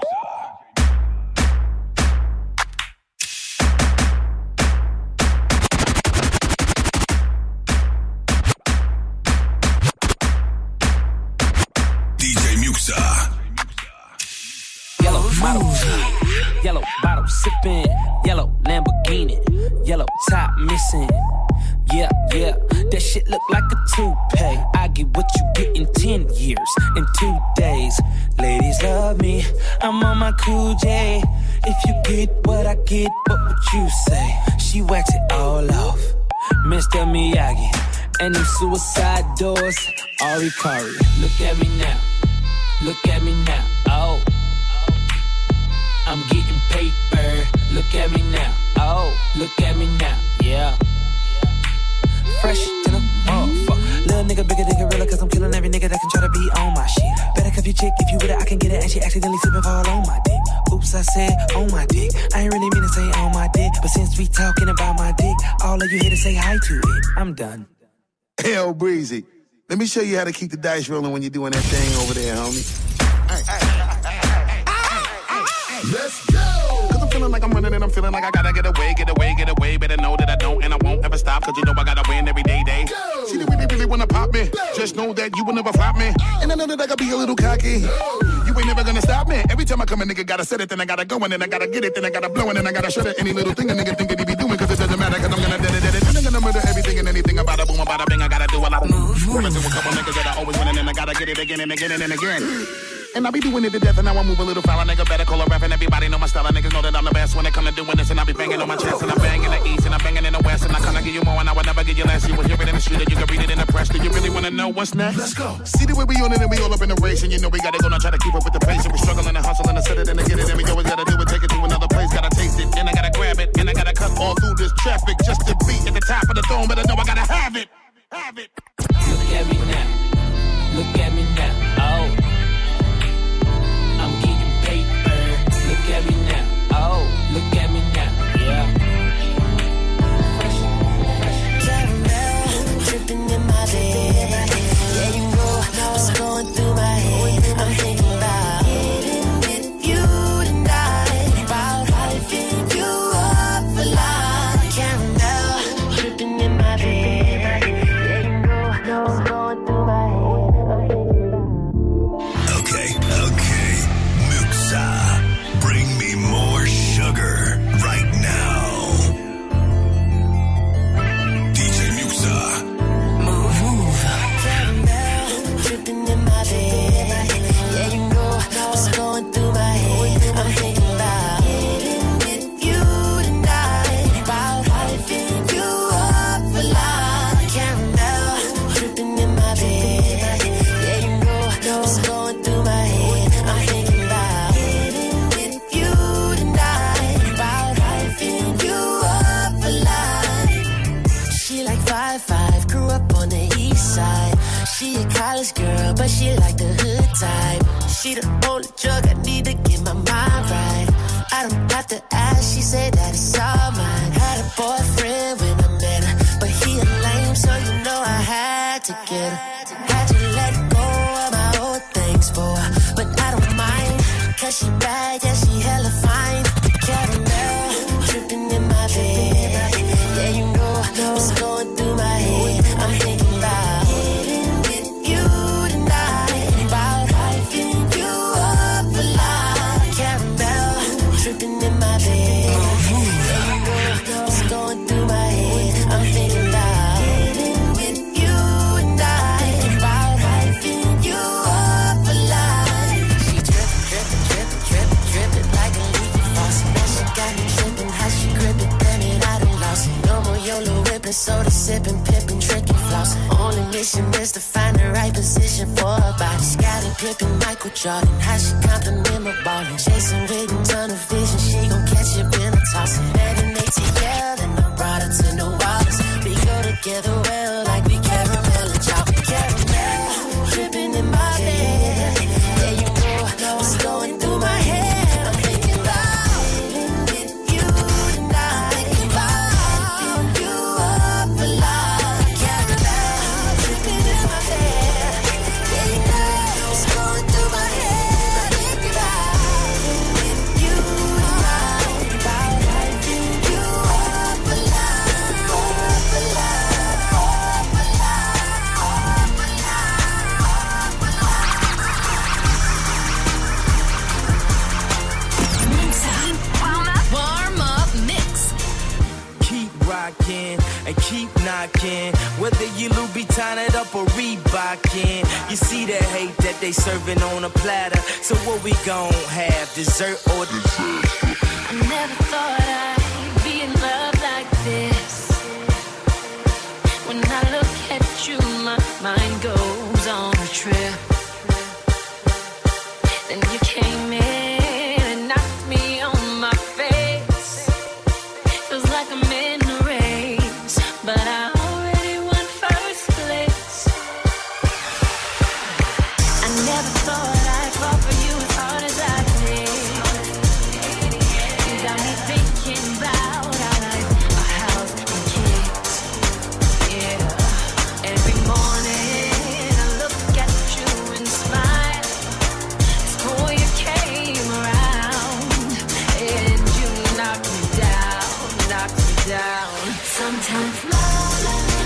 Yellow bottle sipping, yellow Lamborghini, yellow top missing. Yeah, yeah, that shit look like a toupee. I get what you get in ten years, in two days. Ladies love me, I'm on my cool J. If you get what I get, what would you say? She wax it all off, Mister Miyagi. And them suicide doors, Ari Kari. Look at me now, look at me now, oh. I'm getting paper, look at me now, oh, look at me now, yeah. Fresh to the motherfucker. Little nigga bigger than gorilla, cause I'm killing every nigga that can try to be on my shit. Better cuff your chick, if you with it, I can get it, and she accidentally slip and fall on my dick. Oops, I said on my dick, I ain't really mean to say on my dick, but since we talking about my dick, all of you here to say hi to it, I'm done. Hell, Breezy, let me show you how to keep the dice rolling when you're doing that thing over there, homie. Hey, hey, hey, hey. Let's go! Cause I'm feeling like I'm running and I'm feeling like I gotta get away, get away, get away. Better know that I don't and I won't ever stop, cause you know I gotta win every day, day. Go. See, they really, really wanna pop me. Go. Just know that you will never flop me. Oh. And I know that I gotta be a little cocky. Go. You ain't never gonna stop me. Every time I come a nigga gotta set it, then I gotta go, and then I gotta get it, then I gotta blow, and then I gotta shut it. Any little thing a nigga think that he be doing, cause it doesn't matter, cause I'm gonna dead it, dead it. Then I'm gonna murder everything and anything about a boom, about a bing. I gotta do a lot of moves. Wanna do a couple niggas that I always win, and then I gotta get it again and again and again. And I be doing it to death, and now I move a little foul. A nigga better call a rap, and everybody know my style. And niggas know that I'm the best when it come to doing this. And I be banging on my chest, and I bang in the east, and I banging in the west. And I kinda give you more, and I would never give you less. You will hear it in the street, or you can read it in the press. Do you really wanna know what's next? Let's go. See the way we on it, and we all up in the race. And you know we gotta go now, try to keep up with the pace. And we struggling and hustling and set it and to get it. And we always gotta do it, take it to another place. Gotta taste it, and I gotta grab it, and I gotta cut all through this traffic just to be at the top of the throne. But I know I gotta have it, have it. Look at me now, look at me now, oh. I'm getting paper. Look at me now. Oh, look at me now. Yeah. Fresh, fresh. Caramel dripping in my bed. Yeah, you know what's going through my head. I'm thinking about getting with you tonight. About hyping you up for life. Caramel dripping in my bed. Yeah, you know what's going through my head. I'm thinking about. Okay, okay. Bring me more sugar right now. D J Muxa. Move, move. Caramel dripping in my bed. college girl, but she like the hood type. She the only drug I need to get my mind right. I don't have to ask, she said that it's all mine. Had a boyfriend when I met her, but he a lame, so you know I had to get her. Had to let go of my old things for her, but I don't mind, cause she bad, yeah, she hella fine. Caramel, dripping in my bed. Yeah, you know what's going through my head. I'm thinking about getting with you tonight, about hyping you up a lot. Caramel, dripping in my bed. Yeah, you know what's going through my head. I'm thinking about getting with you tonight, about hyping you up a lot. She drippin', drippin', drippin', drippin', drippin' like a leaky faucet. Now she got me trippin', how she grip it, damn it, I done lost it. No more YOLO whippin', soda sippin', pippin', trickin', flossin'. Only mission is to find the right position for her body. Scottie Pippen, Michael Jordan, how she compliment my ballin'. Chasing with a ton of vision, she gon' catch it when I toss it. Met an A T L, then I brought her to New Orleans. We go together well, like we caramel and chocolate. Caramel, drippin' in my bed. Yeah, you know what's going through my head. I'm thinking about getting with you tonight, about hyping you up a lot. Caramel, drippin' in my bed. Yeah, you know what's going through my head. I'm thinking about getting with you tonight, about hyping you up a lot, up a lot, up a lot, up a Warm up mix. Keep rocking and keep knocking. Whether you Louboutin it up or Reebokin, you see the hate that they serving on a platter. So what we gon' have, dessert or dessert? I never thought I'd be in love like this. When I look at you, my mind goes on a trip. Then you came in and knocked me on my face. Feels like I'm in a race, but I already won first place. I never thought I'd fall for you as hard as I did. You got me thinking about our life, our house and kids. Yeah, every morning I look at you and smile. Oh, you came around and you knocked me down, knocked me down. Sometimes love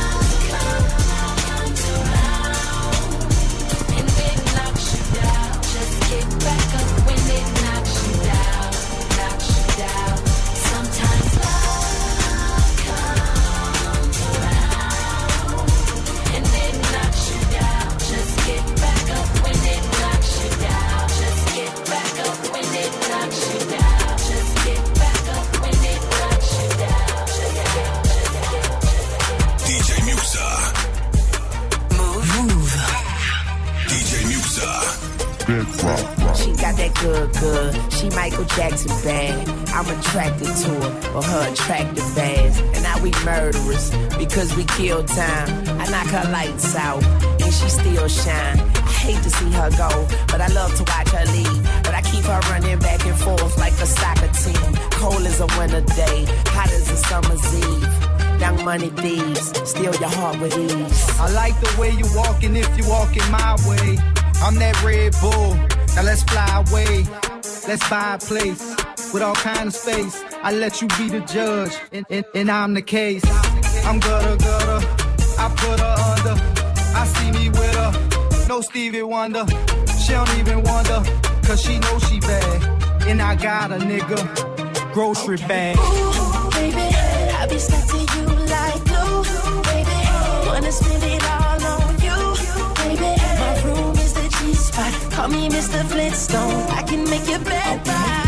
comes around and it knocks you down. Just get back up when it knocks you down, knocks you down. Sometimes love comes around and it knocks you down. Just get back up when it knocks you down. Just get back up when it knocks you down. Just get back up when it knocks you down. Just get, just get, just get. D J Muxa. Move, move. D J Muxa. She got that good, good. She Michael Jackson bad. I'm attracted to her, or her attractive ass. And now we murderers because we kill time. I knock her lights out and she still shine. I hate to see her go, but I love to watch her leave. But I keep her running back and forth like a soccer team. Cold as a winter day, hot as a summer's eve. Young money thieves, steal your heart with ease. I like the way you walking if you walking my way. I'm that Red Bull, now let's fly away. Let's buy a place with all kind of space. I let you be the judge, and, and, and I'm the case. I'm gutter, gutter, I put her under. I see me with her, no Stevie Wonder. She don't even wonder, cause she knows she bad. And I got a nigga, grocery bag. Ooh, baby, I be stuck to you like glue. Baby, wanna spend it all on you. Baby, my room is the G-spot. Call me Mister Flintstone. I can make your bed right.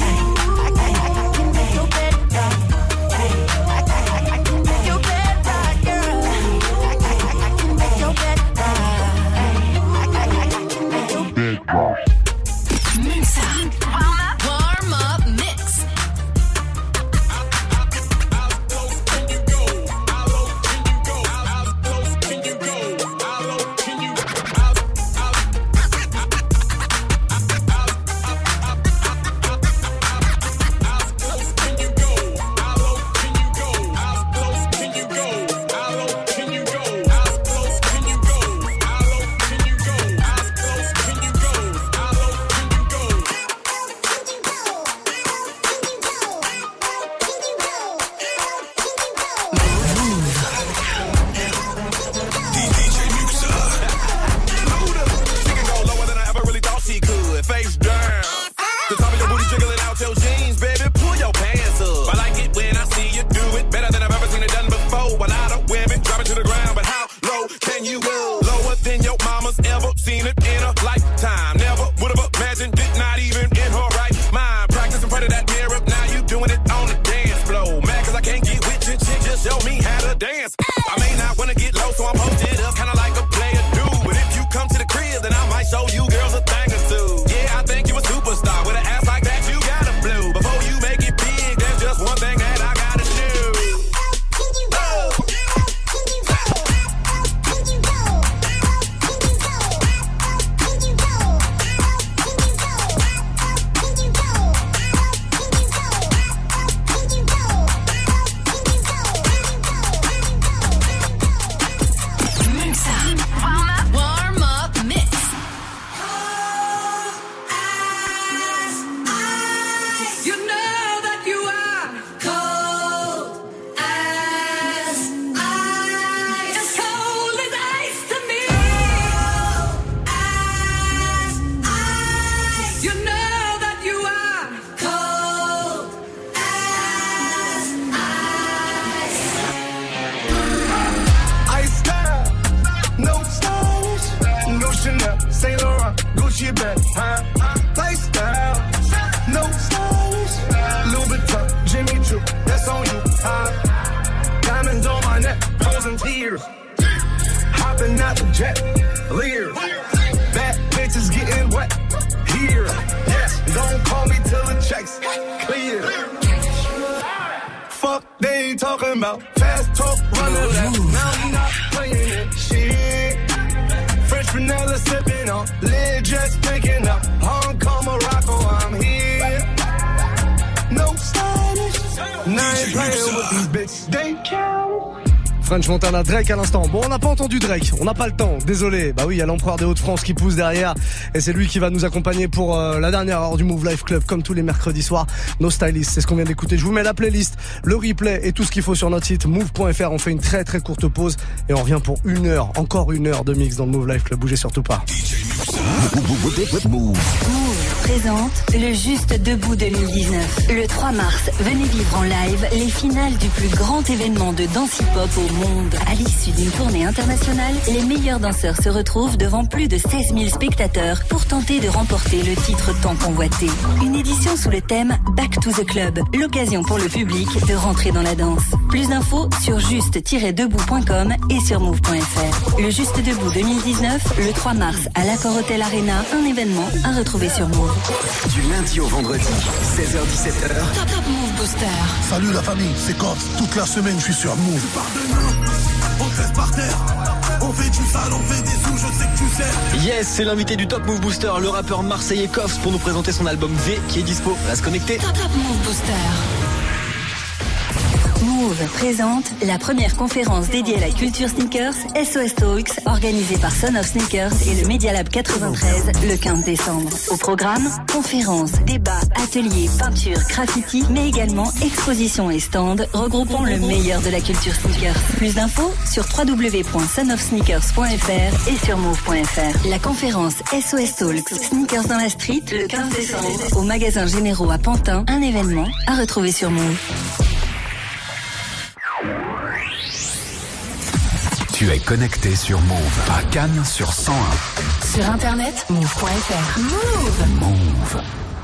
Warm up mix. you go. Lower than your mama's ever seen it in a lifetime. Never would have imagined it, not even in her right mind. Practice in front of that mirror, now you doing it on the dance floor. Mad cause I can't get with your chick, just show me how to dance. I may not wanna get low, so I'm posted up, kinda like a player do. But if you come to the crib, then I might show you girls a thing or two. Yeah, I think you a superstar. With an ass like that, you gotta blue. Before you make it big, there's just one thing that I gotta do. Warm up mix. You know that you are cold as ice. As cold as ice to me. As ice. You know that you are cold as ice. Ice style, no stylish, no Chanel, Saint Laurent, Gucci bag, huh? Lifestyle, no stylish, Louis Vuitton, Jimmy Choo, that's on you, huh? Diamonds on my neck, frozen tears, hopping out the jet, Lear, bad bitches getting wet, here, yes, don't call me till the checks clear. Fuck they ain't talking about, fast talk, run it up, now I'm not playing it, shit. French vanilla sipping on, lid just picking up, Hong Kong, Morocco, I'm here. No stylish, now I ain't playing with these bitches, they count. French Montana, Drake à l'instant. Bon, on n'a pas entendu Drake, on n'a pas le temps, désolé. Bah oui, il y a l'empereur des Hauts-de-France qui pousse derrière et c'est lui qui va nous accompagner pour euh, la dernière heure du Move Life Club comme tous les mercredis soirs. No Stylist, c'est ce qu'on vient d'écouter. Je vous mets la playlist, le replay et tout ce qu'il faut sur notre site move point f r. On fait une très très courte pause et on revient pour une heure, encore une heure de mix dans le Move Life Club. Bougez surtout pas. Move présente le Juste Debout deux mille dix-neuf. Le trois mars, venez vivre en live les finales du plus grand événement de danse hip-hop au monde. À l'issue d'une tournée internationale, les meilleurs danseurs se retrouvent devant plus de seize mille spectateurs pour tenter de remporter le titre tant convoité. Une édition sous le thème Back to the Club, l'occasion pour le public de rentrer dans la danse. Plus d'infos sur juste tiret debout point com et sur move point f r. Le Juste Debout deux mille dix-neuf, le trois mars à l'Accor Hotel Arena, un événement à retrouver sur Move. Du lundi au vendredi, seize heures dix-sept heures. Top Top Move Booster. Salut la famille, c'est Corse. Toute la semaine, je suis sur Move. On te laisse par terre, on fait du sale, on fait des sous, je sais que tu sais. Yes, c'est l'invité du Top Move Booster, le rappeur marseillais Koffs, pour nous présenter son album V qui est dispo. Reste connecté. Top Top Move Booster. Move présente la première conférence dédiée à la culture sneakers, S O S Talks, organisée par Son of Sneakers et le Media Lab quatre-vingt-treize le quinze décembre. Au programme, conférences, débats, ateliers, peinture, graffiti, mais également expositions et stands regroupant le meilleur de la culture sneakers. Plus d'infos sur w w w point son of sneakers point f r et sur move point f r. La conférence S O S Talks, Sneakers dans la Street, le quinze décembre, au magasin Généraux à Pantin, un événement à retrouver sur Move. Tu es connecté sur Move à Cannes sur cent un. Sur internet, move point f r. Move. Move.